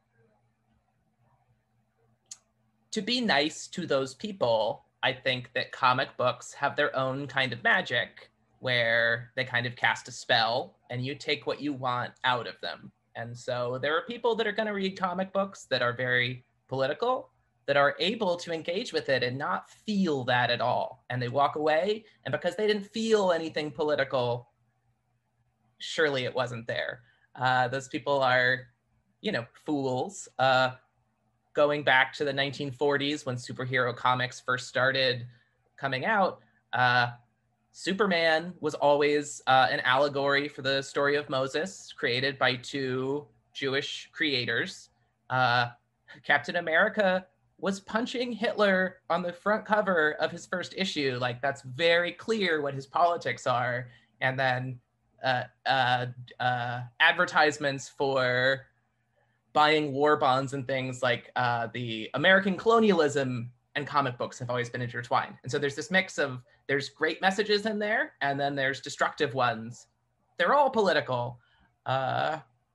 to be nice to those people, I think that comic books have their own kind of magic where they kind of cast a spell and you take what you want out of them. And so there are people that are going to read comic books that are very political, that are able to engage with it and not feel that at all. And they walk away, and because they didn't feel anything political, surely it wasn't there. Uh, those people are, you know, fools. Uh, going back to the nineteen forties when superhero comics first started coming out, uh, Superman was always uh, an allegory for the story of Moses, created by two Jewish creators. Uh, Captain America was punching Hitler on the front cover of his first issue. Like, that's very clear what his politics are. And then uh, uh, uh, advertisements for buying war bonds and things like uh, the American colonialism and comic books have always been intertwined. And so there's this mix of, there's great messages in there, and then there's destructive ones. They're all political. Uh,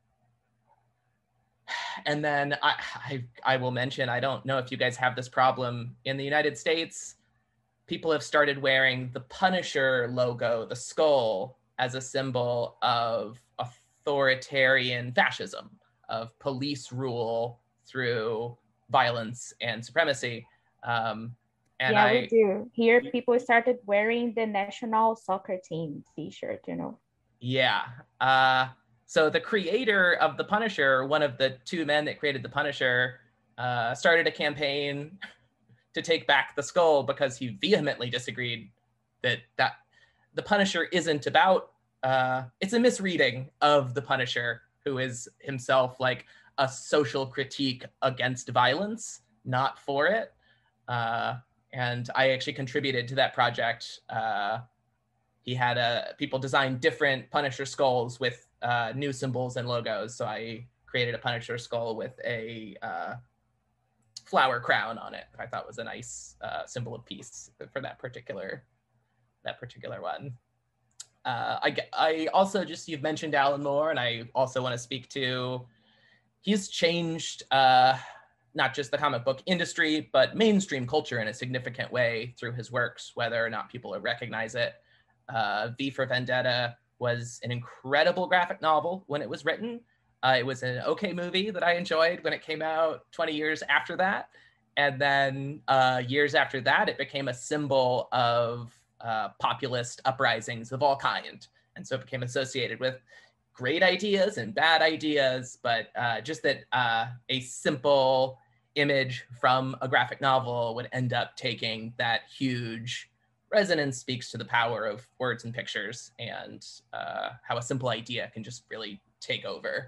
and then I, I, I will mention, I don't know if you guys have this problem in the United States, people have started wearing the Punisher logo, the skull, as a symbol of authoritarian fascism, of police rule through violence and supremacy. Um, and yeah, I, we do. Here, people started wearing the national soccer team t-shirt, you know. Yeah. Uh, so the creator of the Punisher, one of the two men that created the Punisher, uh, started a campaign to take back the skull because he vehemently disagreed that that the Punisher isn't about, uh, it's a misreading of the Punisher, who is himself like a social critique against violence, not for it. Uh, and I actually contributed to that project. Uh, he had uh, people design different Punisher skulls with uh, new symbols and logos. So I created a Punisher skull with a uh, flower crown on it. I thought was a nice uh, symbol of peace for that particular, that particular one. Uh, I, I also just, you've mentioned Alan Moore, and I also want to speak to, he's changed uh, not just the comic book industry, but mainstream culture in a significant way through his works, whether or not people recognize it. Uh, V for Vendetta was an incredible graphic novel when it was written, Uh, it was an okay movie that I enjoyed when it came out twenty years after that. And then uh, years after that, it became a symbol of uh, populist uprisings of all kind. And so it became associated with great ideas and bad ideas, but uh, just that uh, a simple image from a graphic novel would end up taking that huge resonance, speaks to the power of words and pictures, and uh, how a simple idea can just really take over.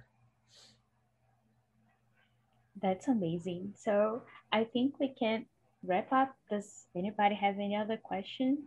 That's amazing. So I think we can wrap up. Does anybody have any other questions?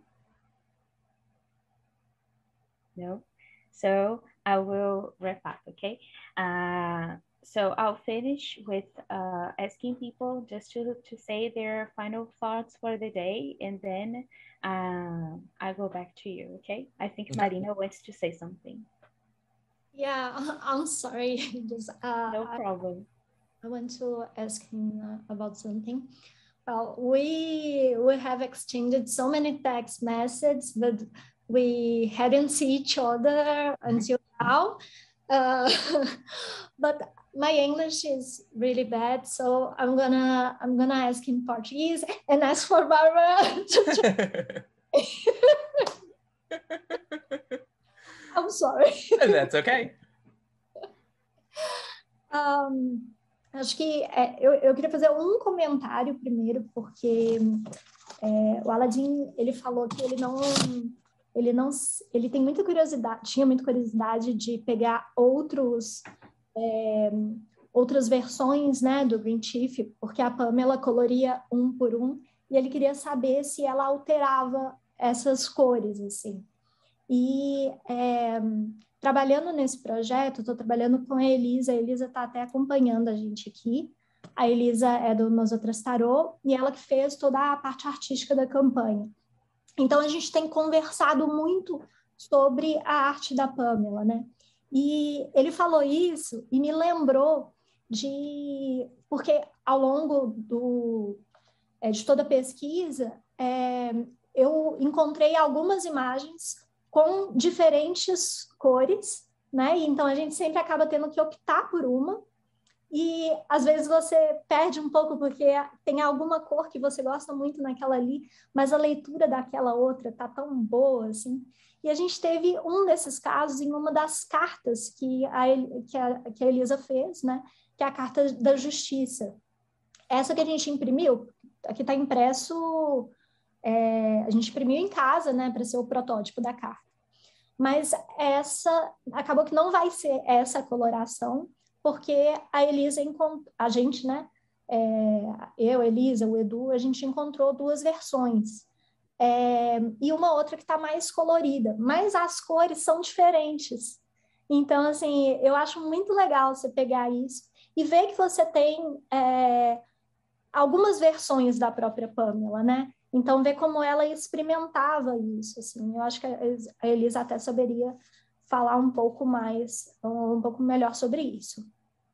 No? So I will wrap up, okay? Uh, so I'll finish with uh, asking people just to, to say their final thoughts for the day, and then uh, I go back to you, okay? I think Okay. Marina wants to say something. Yeah, I'm sorry. Just, uh, No problem. I, I want to ask him uh, about something. Well, we we have exchanged so many text messages, but we hadn't seen each other until now. Uh, but my English is really bad, so I'm gonna I'm gonna ask in Portuguese and ask for Barbara. I'm sorry. That's okay. Um, acho que é, eu, eu queria fazer um comentário primeiro, porque é, o Aladdin, ele falou que ele não, ele não, ele tem muita curiosidade, tinha muita curiosidade de pegar outros, é, outras versões, né, do Green Chief, porque a Pamela coloria um por um, e ele queria saber se ela alterava essas cores, assim. E é, trabalhando nesse projeto, estou trabalhando com a Elisa, a Elisa está até acompanhando a gente aqui. A Elisa é do Nós Outras Tarô, e ela que fez toda a parte artística da campanha. Então, a gente tem conversado muito sobre a arte da Pamela, né? E ele falou isso e me lembrou de... Porque ao longo do, é, de toda a pesquisa, é, eu encontrei algumas imagens com diferentes cores, né? Então, a gente sempre acaba tendo que optar por uma. E, às vezes, você perde um pouco porque tem alguma cor que você gosta muito naquela ali, mas a leitura daquela outra tá tão boa, assim. E a gente teve um desses casos em uma das cartas que a, que a, que a Elisa fez, né? Que é a Carta da Justiça. Essa que a gente imprimiu, aqui está impresso... É, a gente imprimiu em casa, né, para ser o protótipo da carta. Mas essa, acabou que não vai ser essa coloração, porque a Elisa, a gente, né, é, eu, a Elisa, o Edu, a gente encontrou duas versões. É, e uma outra que está mais colorida, mas as cores são diferentes. Então, assim, eu acho muito legal você pegar isso e ver que você tem é, algumas versões da própria Pamela, né? Então, ver como ela experimentava isso, assim. Eu acho que a Elisa até saberia falar um pouco mais, um pouco melhor sobre isso.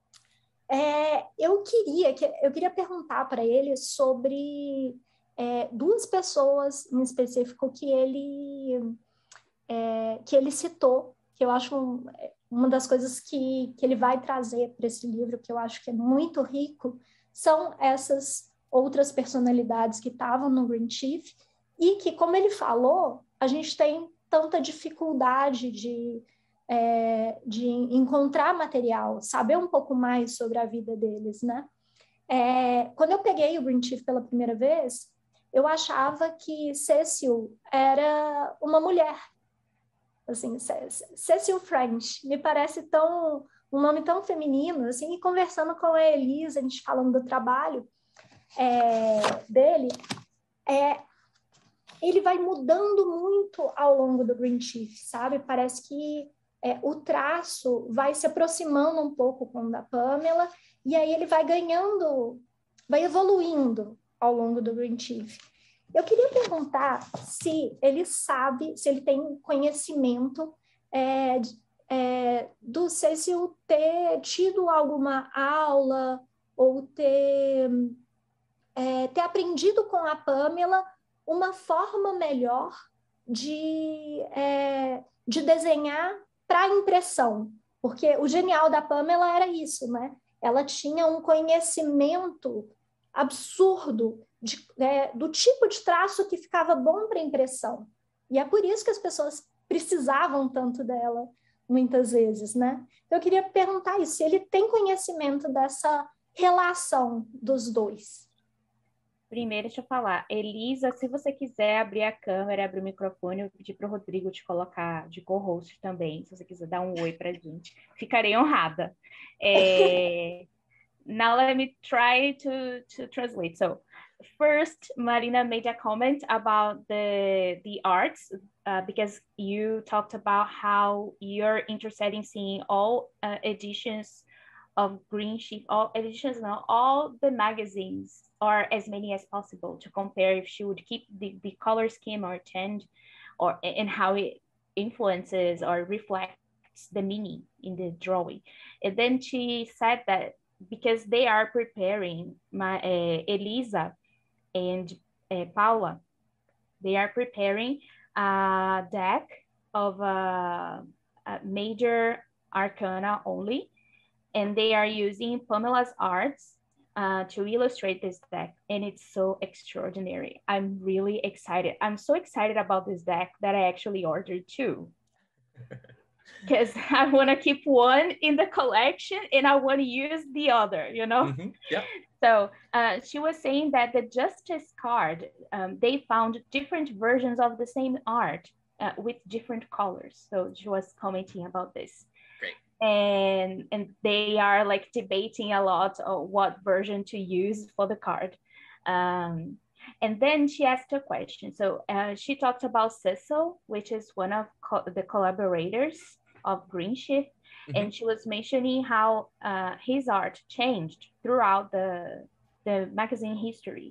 É, eu queria, eu queria perguntar para ele sobre é, duas pessoas em específico que ele, é, que ele citou, que eu acho um, uma das coisas que, que ele vai trazer para esse livro, que eu acho que é muito rico, são essas outras personalidades que estavam no Green Chief e que, como ele falou, a gente tem tanta dificuldade de, é, de encontrar material, saber um pouco mais sobre a vida deles, né? É, quando eu peguei o Green Chief pela primeira vez, eu achava que Cecil era uma mulher. Assim, Cecil French me parece tão, um nome tão feminino, assim, e conversando com a Elisa, a gente falando do trabalho, É, dele, é, ele vai mudando muito ao longo do Green Chief, sabe? Parece que é, o traço vai se aproximando um pouco com o da Pamela, e aí ele vai ganhando, vai evoluindo ao longo do Green Chief. Eu queria perguntar se ele sabe, se ele tem conhecimento é, é, do Cecil ter tido alguma aula ou ter... É, ter aprendido com a Pamela uma forma melhor de, é, de desenhar para impressão, Porque o genial da Pamela era isso, né? Ela tinha um conhecimento absurdo de, é, do tipo de traço que ficava bom para impressão. E é por isso que as pessoas precisavam tanto dela, muitas vezes, né? Então, eu queria perguntar isso, se ele tem conhecimento dessa relação dos dois. Primeiro, deixa eu falar. Elisa, se você quiser abrir a câmera, abrir o microfone, eu pedi para o Rodrigo te colocar de co-host também, se você quiser dar um oi para a gente. Ficarei honrada. É... Now let me try to, to translate. So, first, Marina made a comment about the, the arts, uh, because you talked about how you're interested in seeing all uh, editions of Green Sheep, all editions, no, all the magazines, or as many as possible, to compare if she would keep the, the color scheme or change, or and how it influences or reflects the meaning in the drawing. And then she said that because they are preparing, my uh, Elisa and uh, Paula, they are preparing a deck of uh, a major arcana only, and they are using Pamela's arts uh, to illustrate this deck, and it's so extraordinary. I'm really excited. I'm so excited about this deck that I actually ordered two. Because I want to keep one in the collection and I want to use the other, you know? Mm-hmm. Yeah. So uh, she was saying that the Justice card, um, they found different versions of the same art uh, with different colors. So she was commenting about this. Great. And, and they are like debating a lot of what version to use for the card. Um, and then she asked a question. So uh, she talked about Cecil, which is one of co the collaborators of Green Shift, mm-hmm. and she was mentioning how uh, his art changed throughout the the magazine history,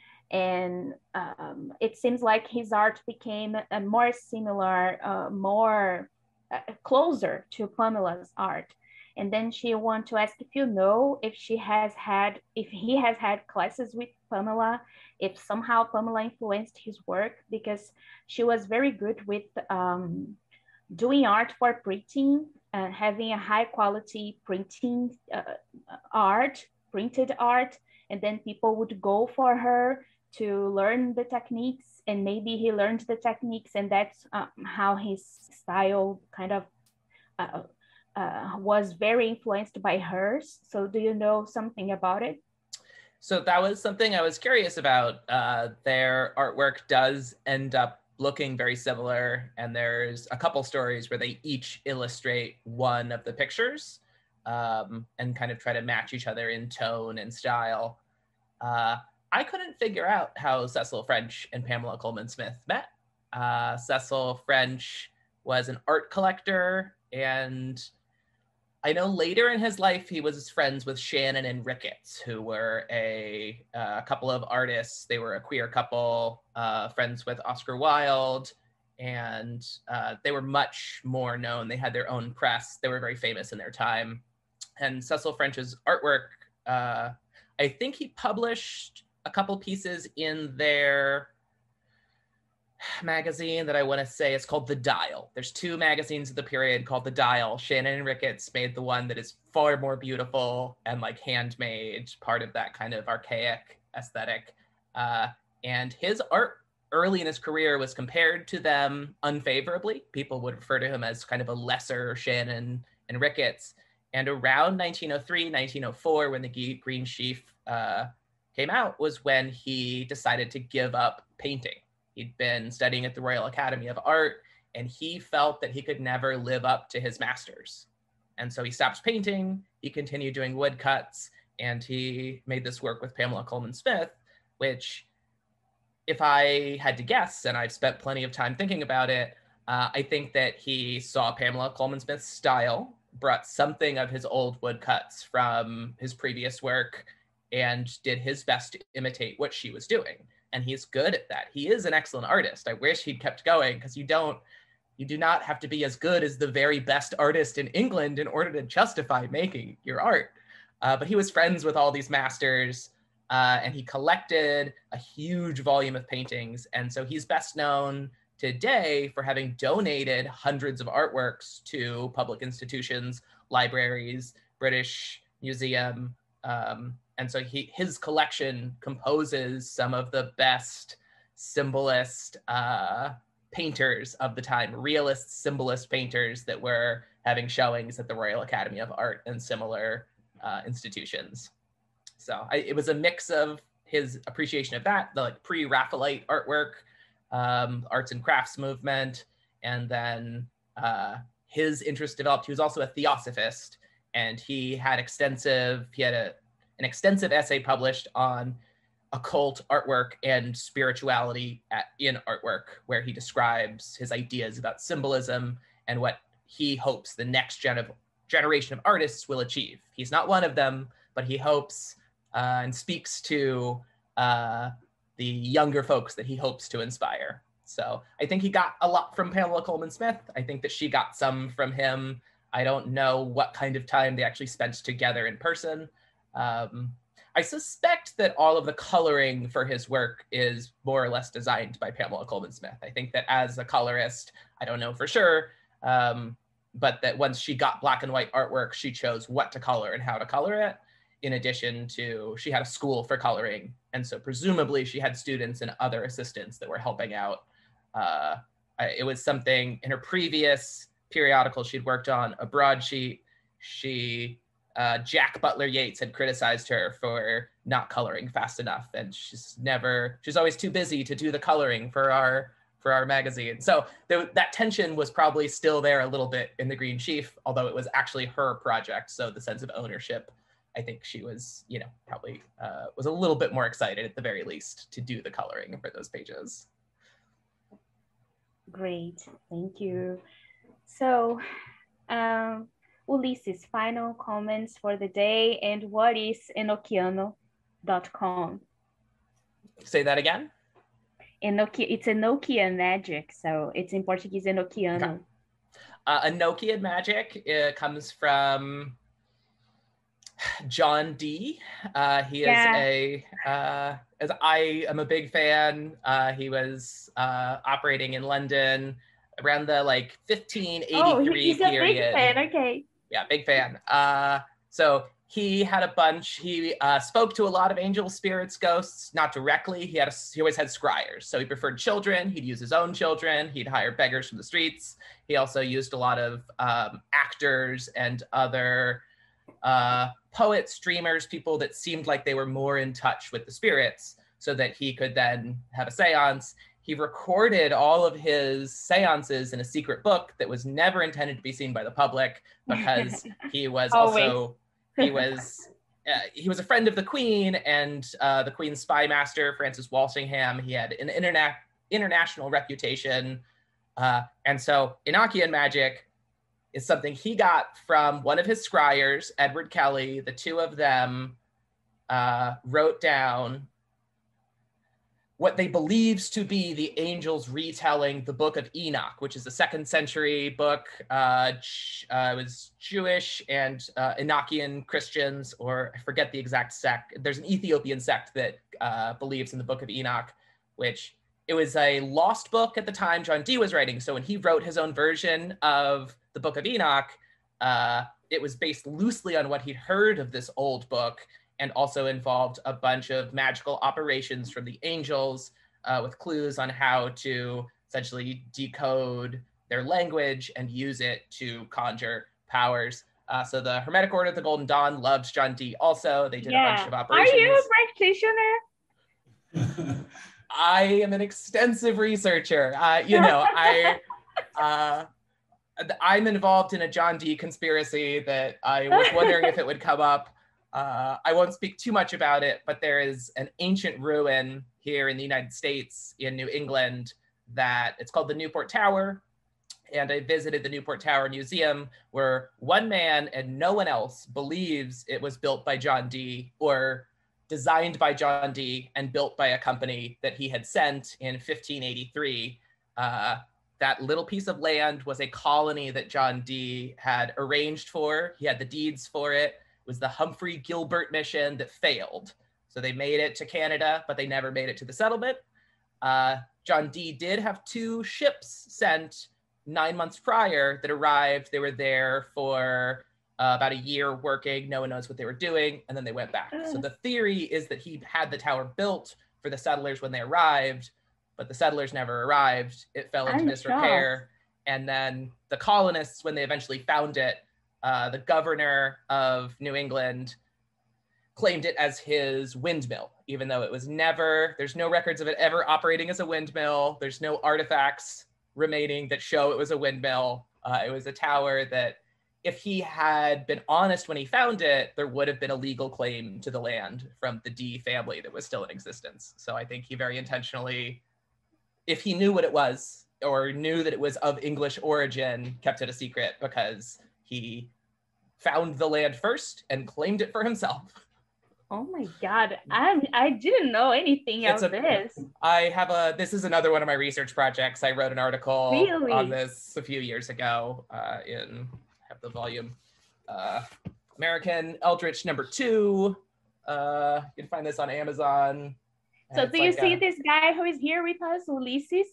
and um, it seems like his art became a more similar, uh, more uh, closer to Pamela's art. And then she wanted to ask if you know if she has had, if he has had classes with Pamela, if somehow Pamela influenced his work, because she was very good with um, doing art for printing and having a high quality printing uh, art, printed art, and then people would go for her to learn the techniques, and maybe he learned the techniques, and that's um, how his style kind of uh, uh, was very influenced by hers. So do you know something about it? So that was something I was curious about. Uh, their artwork does end up looking very similar, and there's a couple stories where they each illustrate one of the pictures um, and kind of try to match each other in tone and style. Uh, I couldn't figure out how Cecil French and Pamela Colman Smith met. Uh, Cecil French was an art collector, and I know later in his life he was friends with Shannon and Ricketts, who were a, uh, couple of artists. They were a queer couple, uh, friends with Oscar Wilde, and uh, they were much more known. They had their own press. They were very famous in their time. And Cecil French's artwork, uh, I think he published a couple pieces in their magazine that I want to say is called The Dial. There's two magazines of the period called The Dial. Shannon and Ricketts made the one that is far more beautiful and like handmade, part of that kind of archaic aesthetic. Uh, and his art early in his career was compared to them unfavorably. People would refer to him as kind of a lesser Shannon and Ricketts. And around nineteen oh three, nineteen oh four, when the Green Sheaf uh, came out, was when he decided to give up painting. He'd been studying at the Royal Academy of Art, and he felt that he could never live up to his masters. And so he stopped painting, he continued doing woodcuts, and he made this work with Pamela Colman Smith, which, if I had to guess, and I've spent plenty of time thinking about it, uh, I think that he saw Pamela Colman Smith's style, brought something of his old woodcuts from his previous work, and did his best to imitate what she was doing. And he's good at that. He is an excellent artist. I wish he'd kept going, because you don't, you do not have to be as good as the very best artist in England in order to justify making your art. Uh, but he was friends with all these masters, uh, and he collected a huge volume of paintings. And so he's best known today for having donated hundreds of artworks to public institutions, libraries, British Museum. Um, and so he, his collection composes some of the best symbolist uh, painters of the time, realist symbolist painters that were having showings at the Royal Academy of Art and similar uh, institutions. So I, it was a mix of his appreciation of that, the like pre-Raphaelite artwork, um, arts and crafts movement, and then uh, his interest developed. He was also a theosophist, and he had extensive, he had a, an extensive essay published on occult artwork and spirituality at, in artwork, where he describes his ideas about symbolism and what he hopes the next gen of, generation of artists will achieve. He's not one of them, but he hopes uh, and speaks to uh, the younger folks that he hopes to inspire. So I think he got a lot from Pamela Colman Smith. I think that she got some from him. I don't know what kind of time they actually spent together in person. Um, I suspect that all of the coloring for his work is more or less designed by Pamela Colman Smith. I think that as a colorist, I don't know for sure, um, but that once she got black and white artwork, she chose what to color and how to color it. In addition to, she had a school for coloring. And so presumably she had students and other assistants that were helping out. Uh, it was something in her previous periodical she'd worked on, a broadsheet, she, uh, Jack Butler Yeats had criticized her for not coloring fast enough. And she's never, she's always too busy to do the coloring for our, for our magazine. So there, that tension was probably still there a little bit in The Green Sheaf, although it was actually her project. So the sense of ownership, I think she was, you know, probably uh, was a little bit more excited at the very least to do the coloring for those pages. Great, thank you. So, um, Ulisses, final comments for the day, and what is Enochiano dot com? Say that again? Enochi it's Enochian magic, so it's in Portuguese Enochiano. Okay. Uh, Enochian magic uh, comes from John Dee. Uh, he is yeah. a, uh, as I am a big fan, uh, he was uh, operating in London around the like fifteen eighty-three oh, he's period. A big fan, okay. Yeah, big fan. Uh, so he had a bunch, he uh, spoke to a lot of angel spirits, ghosts, not directly. He had a, he always had scryers. So he preferred children, he'd use his own children, he'd hire beggars from the streets. He also used a lot of um, actors and other uh, poets, dreamers, people that seemed like they were more in touch with the spirits so that he could then have a seance. He recorded all of his seances in a secret book that was never intended to be seen by the public because he was also, he was, uh, he was a friend of the Queen and uh, the Queen's spy master, Francis Walsingham. He had an interna international reputation. Uh, and so Enochian magic is something he got from one of his scryers, Edward Kelly. The two of them uh, wrote down what they believed to be the angels retelling the Book of Enoch, which is a second century book. Uh, uh, it was Jewish and uh, Enochian Christians, or I forget the exact sect. There's an Ethiopian sect that uh, believes in the Book of Enoch, which it was a lost book at the time John Dee was writing. So when he wrote his own version of the Book of Enoch, uh, it was based loosely on what he'd heard of this old book, and also involved a bunch of magical operations from the angels uh, with clues on how to essentially decode their language and use it to conjure powers. Uh, so the Hermetic Order of the Golden Dawn loves John Dee also. They did yeah. a bunch of operations. Are you a practitioner? I am an extensive researcher. Uh, you know, I, uh, I'm involved in a John Dee conspiracy that I was wondering if it would come up. Uh, I won't speak too much about it, but there is an ancient ruin here in the United States, in New England, that it's called the Newport Tower. And I visited the Newport Tower Museum, where one man and no one else believes it was built by John Dee or designed by John Dee and built by a company that he had sent in fifteen eighty-three. Uh, that little piece of land was a colony that John Dee had arranged for. He had the deeds for it. Was the Humphrey Gilbert mission that failed. So they made it to Canada, but they never made it to the settlement. Uh, John Dee did have two ships sent nine months prior that arrived. They were there for uh, about a year working. No one knows what they were doing. And then they went back. So the theory is that he had the tower built for the settlers when they arrived, but the settlers never arrived. It fell into I'm disrepair. shocked. And then the colonists, when they eventually found it, uh, the governor of New England claimed it as his windmill, even though it was never, there's no records of it ever operating as a windmill. There's no artifacts remaining that show it was a windmill. Uh, it was a tower that if he had been honest when he found it, there would have been a legal claim to the land from the Dee family that was still in existence. So I think he very intentionally, if he knew what it was or knew that it was of English origin, kept it a secret because he found the land first and claimed it for himself. Oh my God, I'm, I didn't know anything It's of a- this. I have a, this is another one of my research projects. I wrote an article Really? on this a few years ago uh, in, I have the volume, uh, American Eldritch number two. Uh, you can find this on Amazon. And So it's do you like see a- this guy who is here with us, Ulysses?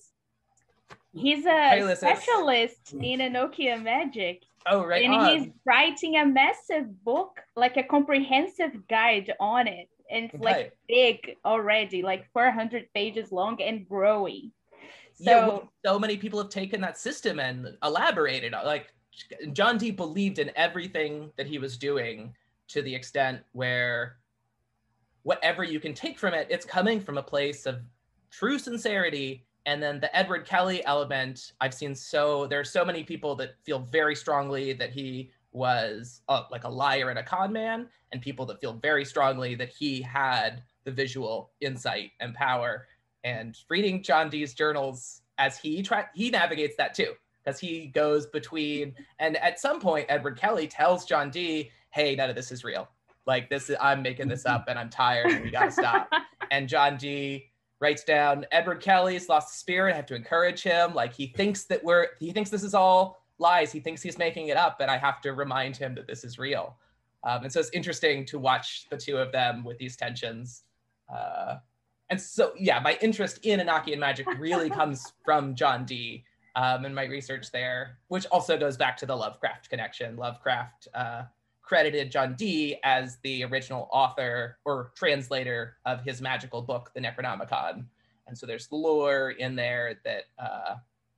He's a Hey, Ulysses. specialist in Enochian magic. Oh, right and on. he's writing a massive book, like a comprehensive guide on it. And it's Okay. like big already, like four hundred pages long and growing. So Yeah, well, so many people have taken that system and elaborated on, like, John Dee believed in everything that he was doing to the extent where whatever you can take from it, it's coming from a place of true sincerity. And then the Edward Kelly element, I've seen so, there are so many people that feel very strongly that he was a, like a liar and a con man, and people that feel very strongly that he had the visual insight and power. And reading John Dee's journals as he try, he navigates that too, because he goes between, and at some point, Edward Kelly tells John Dee, hey, none of this is real. Like this, is, I'm making this up and I'm tired and we gotta stop. And John Dee writes down, Edward Kelly's lost the spirit, I have to encourage him. Like he thinks that we're, he thinks this is all lies. He thinks he's making it up and I have to remind him that this is real. Um, and so it's interesting to watch the two of them with these tensions. Uh, and so, yeah, my interest in Enochian magic really comes from John Dee um, and my research there, which also goes back to the Lovecraft connection. Lovecraft uh, credited John Dee as the original author or translator of his magical book, the Necronomicon. And so there's lore in there that uh,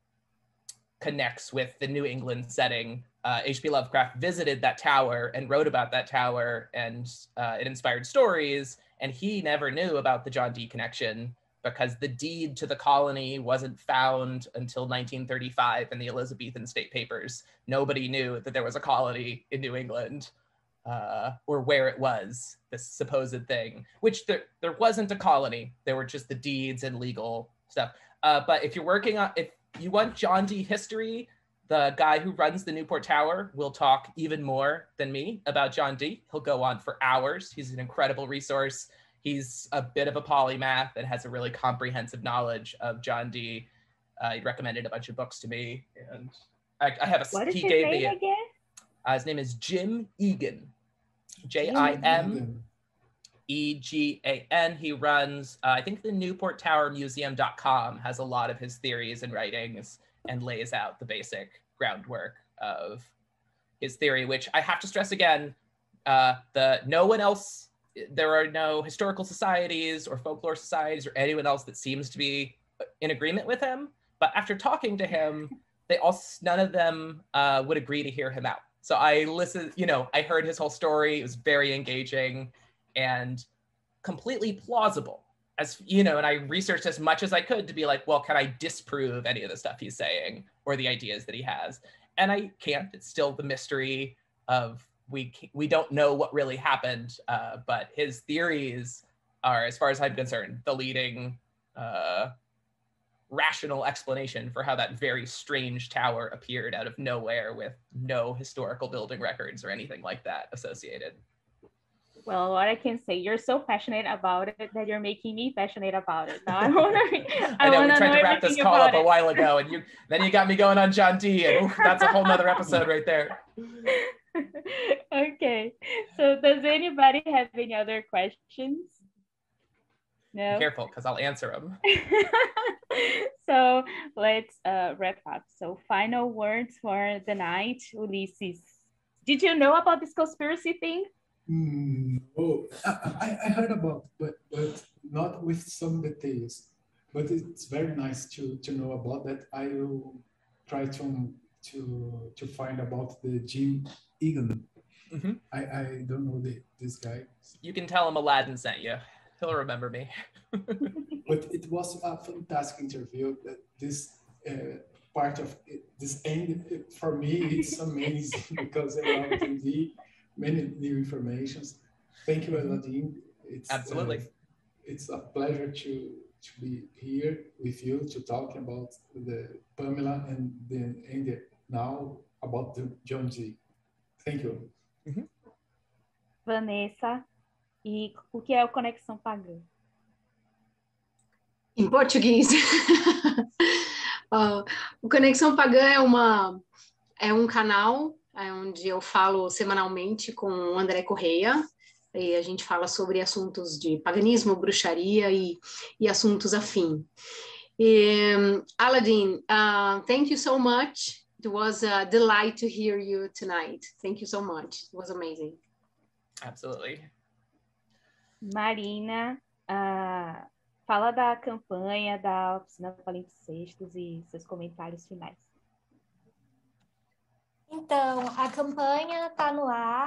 connects with the New England setting. Uh, H P Lovecraft visited that tower and wrote about that tower, and uh, it inspired stories. And he never knew about the John Dee connection because the deed to the colony wasn't found until nineteen thirty-five in the Elizabethan State Papers. Nobody knew that there was a colony in New England uh, or where it was, this supposed thing, which there, there wasn't a colony. There were just the deeds and legal stuff. Uh, but if you're working on, if you want John Dee history, the guy who runs the Newport Tower will talk even more than me about John Dee. He'll go on for hours. He's an incredible resource. He's a bit of a polymath and has a really comprehensive knowledge of John Dee. Uh, he recommended a bunch of books to me, and I, I have a. what is he his gave name me. A, again? uh, his name is Jim Egan, J I M E G A N. He runs, uh, I think the Newport Tower Museum dot com has a lot of his theories and writings and lays out the basic groundwork of his theory, which I have to stress again, uh, the no one else, there are no historical societies or folklore societies or anyone else that seems to be in agreement with him. But after talking to him, they all, none of them uh, would agree to hear him out. So I listened, you know, I heard his whole story. It was very engaging and completely plausible. As you know, and I researched as much as I could to be like, well, can I disprove any of the stuff he's saying or the ideas that he has? And I can't. It's still the mystery of we we don't know what really happened. Uh, but his theories are, as far as I'm concerned, the leading uh, rational explanation for how that very strange tower appeared out of nowhere with no historical building records or anything like that associated. Well, what I can say, you're so passionate about it that you're making me passionate about it. Now I want to. I, I, know we wanna tried know to wrap this everything call about up a it. while ago, and you then you got me going on John Dee, and oof, that's a whole nother episode right there. Okay, so does anybody have any other questions? No? Be careful, because I'll answer them. So let's uh, wrap up. So final words for the night, Ulysses. Did you know about this conspiracy thing? Mm, oh, I, I heard about, but but not with some details. But it's very nice to to know about that. I will try to to to find about the Jim Egan. Mm-hmm. I I don't know the, this guy. You can tell him Aladdin sent you. He'll remember me. But it was a fantastic interview. That this uh, part of it, this end for me, it's amazing because I love T V, many new informations. Thank you, Aladdin. It's Absolutely. Uh, it's a pleasure to to be here with you to talk about the Pamela and the and the, now about the John G. Thank you. Mm-hmm. Vanessa, e o que é o Conexão Pagã? Em português. uh, o Conexão Pagã é, uma, é um canal é onde eu falo semanalmente com o André Correia, e a gente fala sobre assuntos de paganismo, bruxaria e, e assuntos afim. E, um, Aladdin, uh, thank you so much. It was a delight to hear you tonight. Thank you so much. It was amazing. Absolutely. Marina, uh, fala da campanha da Oficina Palimpsestos e seus comentários finais. Então, a campanha está no ar.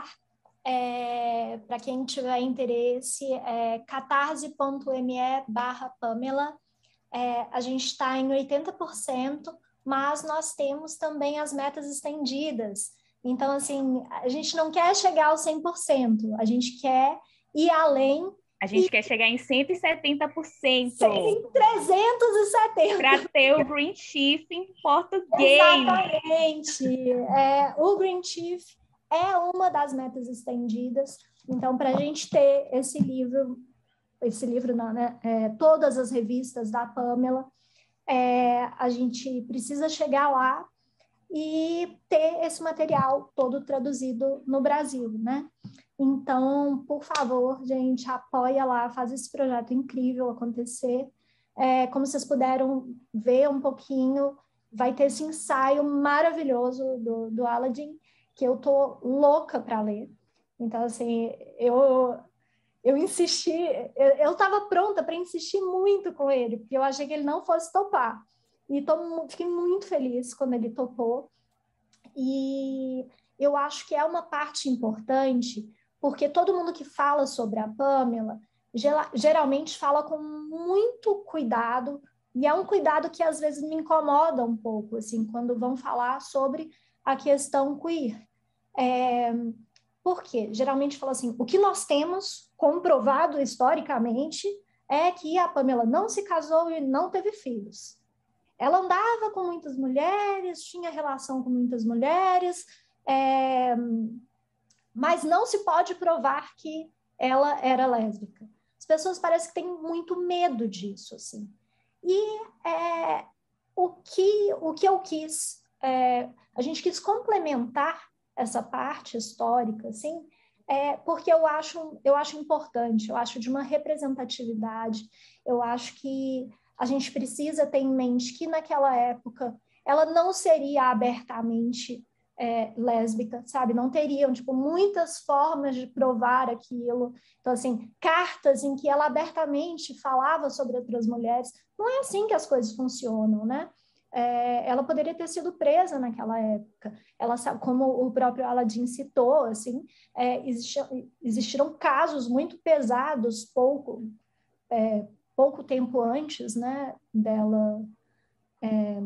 É, para quem tiver interesse, é catarse.me barra Pamela. É, a gente está em oitenta por cento, mas nós temos também as metas estendidas. Então, assim, a gente não quer chegar aos cem por cento, a gente quer ir além. A gente e... quer chegar em cento e setenta por cento. Em trezentos e setenta. Para ter o Green Chief em português. Exatamente. É, o Green Chief é uma das metas estendidas. Então, para a gente ter esse livro, esse livro não, né? É, todas as revistas da Pamela, é, a gente precisa chegar lá e ter esse material todo traduzido no Brasil, né? Então, por favor, gente, apoia lá, faz esse projeto incrível acontecer. É, como vocês puderam ver um pouquinho, vai ter esse ensaio maravilhoso do, do Aladdin, que eu tô louca para ler. Então, assim, eu, eu insisti, eu estava pronta para insistir muito com ele, porque eu achei que ele não fosse topar. E tô, fiquei muito feliz quando ele topou. E eu acho que é uma parte importante, porque todo mundo que fala sobre a Pamela, geralmente fala com muito cuidado, e é um cuidado que às vezes me incomoda um pouco, assim, quando vão falar sobre a questão queer. É, por quê? Geralmente fala assim, o que nós temos comprovado historicamente é que a Pamela não se casou e não teve filhos. Ela andava com muitas mulheres, tinha relação com muitas mulheres, é, mas não se pode provar que ela era lésbica. As pessoas parecem que têm muito medo disso, assim. E é, o, que, o que eu quis, é, a gente quis complementar essa parte histórica, assim, é, porque eu acho, eu acho importante, eu acho de uma representatividade, eu acho que a gente precisa ter em mente que naquela época ela não seria abertamente é, lésbica, sabe? Não teriam, tipo, muitas formas de provar aquilo. Então, assim, cartas em que ela abertamente falava sobre outras mulheres. Não é assim que as coisas funcionam, né? É, ela poderia ter sido presa naquela época. Ela, como o próprio Aladdin citou, assim, é, existiam, existiram casos muito pesados, pouco... É, pouco tempo antes, né, dela, é,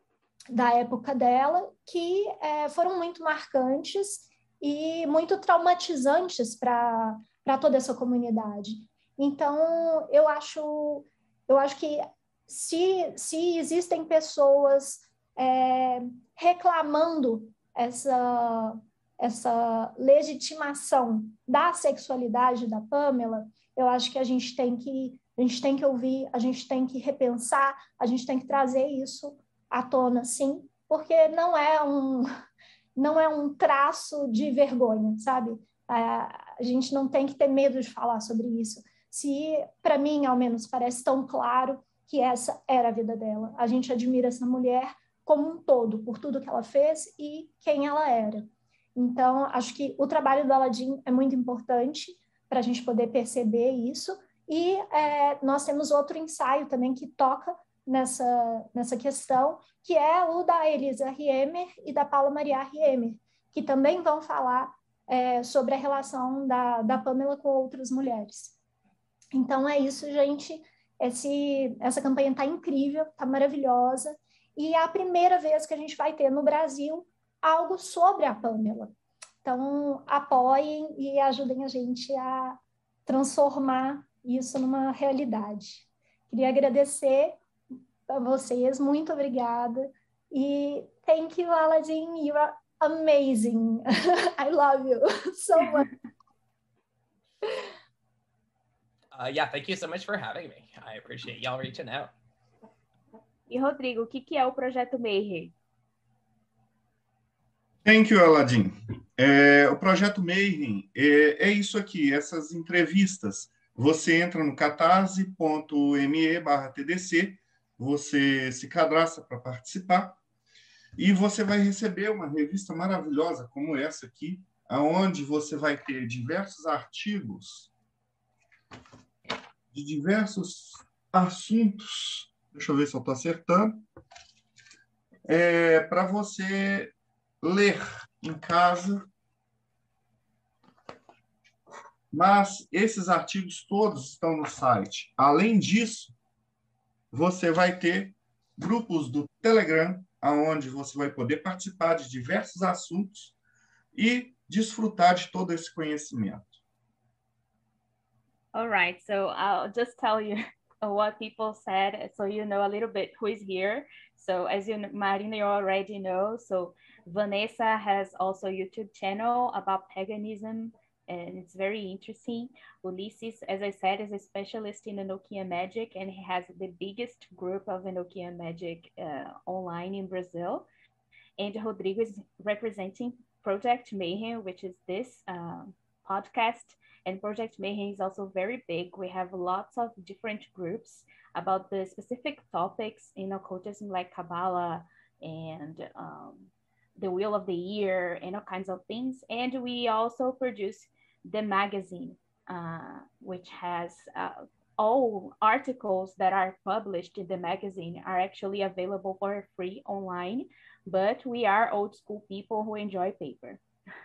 da época dela, que é, foram muito marcantes e muito traumatizantes para para toda essa comunidade. Então, eu acho, eu acho que se, se existem pessoas é, reclamando essa, essa legitimação da sexualidade da Pamela, eu acho que a gente tem que A gente tem que ouvir, a gente tem que repensar, a gente tem que trazer isso à tona, sim, porque não é um, não é um traço de vergonha, sabe? A gente não tem que ter medo de falar sobre isso. se, para mim, ao menos, parece tão claro que essa era a vida dela. A gente admira essa mulher como um todo, por tudo que ela fez e quem ela era. Então, acho que o trabalho do Aladdin é muito importante para a gente poder perceber isso. E é, nós temos outro ensaio também que toca nessa, nessa questão, que é o da Elisa Riemer e da Paula Maria Riemer, que também vão falar é, sobre a relação da, da Pamela com outras mulheres. Então, é isso, gente. Esse, essa campanha está incrível, está maravilhosa. E é a primeira vez que a gente vai ter no Brasil algo sobre a Pamela. Então, apoiem e ajudem a gente a transformar isso numa realidade. Queria agradecer a vocês, muito obrigada. E thank you, Aladdin, you are amazing. I love you so much. Uh, yeah, thank you so much for having me. I appreciate y'all reaching out. E Rodrigo, o que, que é o Projeto Mayhem? Thank you, Aladdin. É, o Projeto Mayhem é, é isso aqui, essas entrevistas. Você entra no catarse.me barra TDC, você se cadastra para participar e você vai receber uma revista maravilhosa como essa aqui, onde você vai ter diversos artigos de diversos assuntos. Deixa eu ver se eu estou acertando. É, para você ler em casa. Mas esses artigos todos estão no site. Além disso, você vai ter grupos do Telegram, onde você vai poder participar de diversos assuntos e desfrutar de todo esse conhecimento. All right, so I'll just tell you what people said, so you know a little bit who is here. So as you, Marina, you already know, so Vanessa has also a YouTube channel about paganism, and it's very interesting. Ulysses, as I said, is a specialist in Enochian magic, and he has the biggest group of Enochian magic uh, online in Brazil. And Rodrigo is representing Project Mayhem, which is this uh, podcast. And Project Mayhem is also very big. We have lots of different groups about the specific topics in occultism, like Kabbalah and um, the Wheel of the Year and all kinds of things. And we also produce the magazine, uh, which has uh, all articles that are published in the magazine are actually available for free online, but we are old school people who enjoy paper.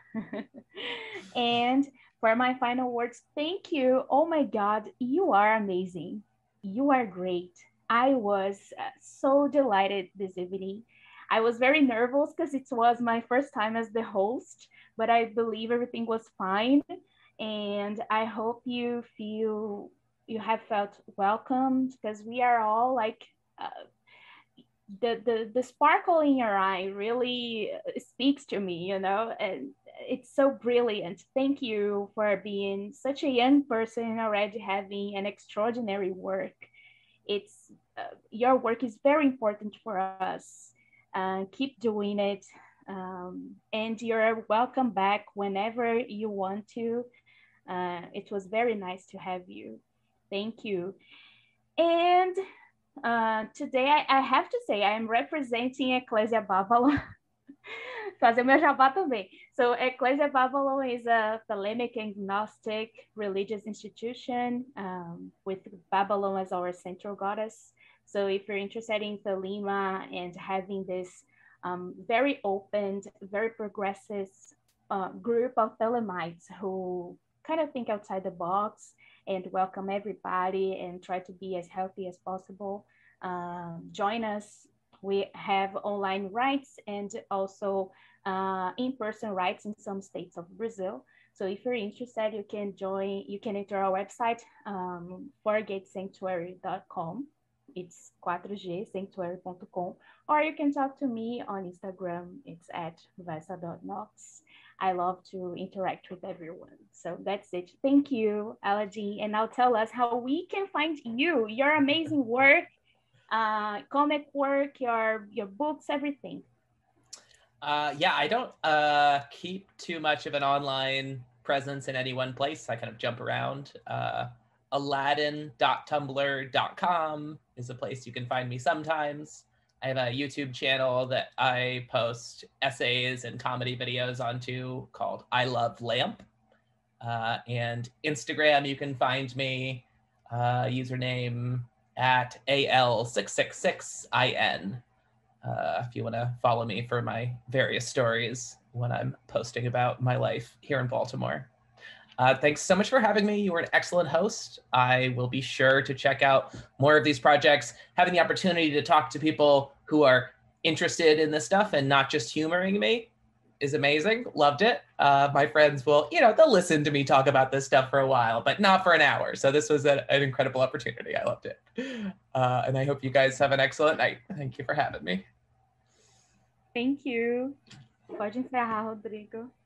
And for my final words, thank you. Oh my God, you are amazing. You are great. I was uh, so delighted this evening. I was very nervous because it was my first time as the host, but I believe everything was fine. And I hope you feel, you have felt welcomed, because we are all like, uh, the, the, the sparkle in your eye really speaks to me, you know, and it's so brilliant. Thank you for being such a young person already having an extraordinary work. It's, uh, your work is very important for us. Uh, keep doing it. Um, and you're welcome back whenever you want to. Uh, it was very nice to have you. Thank you. And uh, today I, I have to say I'm representing Ecclesia Babylon. Fazer meu jabá também. So Ecclesia Babylon is a Thelemic agnostic religious institution um, with Babylon as our central goddess. So if you're interested in Thelema and having this um, very open, very progressive uh, group of Thelemites who kind of think outside the box and welcome everybody and try to be as healthy as possible, um, join us. We have online rights and also uh, in-person rights in some states of Brazil. So if you're interested, you can join, you can enter our website, um, four gate sanctuary dot com. It's four g sanctuary dot com, or you can talk to me on Instagram. It's at vesa dot nox. I love to interact with everyone. So that's it. Thank you, Aladdin. And now tell us how we can find you, your amazing work, uh, comic work, your, your books, everything. Uh, yeah, I don't uh, keep too much of an online presence in any one place. I kind of jump around uh, aladdin dot tumblr dot com is a place you can find me sometimes. I have a YouTube channel that I post essays and comedy videos onto called I Love Lamp. Uh, and Instagram, you can find me, uh, username at A L six six six I N. Uh, if you want to follow me for my various stories when I'm posting about my life here in Baltimore. Uh, thanks so much for having me. You were an excellent host. I will be sure to check out more of these projects. Having the opportunity to talk to people who are interested in this stuff and not just humoring me is amazing. Loved it. Uh, my friends will, you know, they'll listen to me talk about this stuff for a while, but not for an hour. So this was a, an incredible opportunity. I loved it. Uh, and I hope you guys have an excellent night. Thank you for having me. Thank you. Pode encerrar, Rodrigo.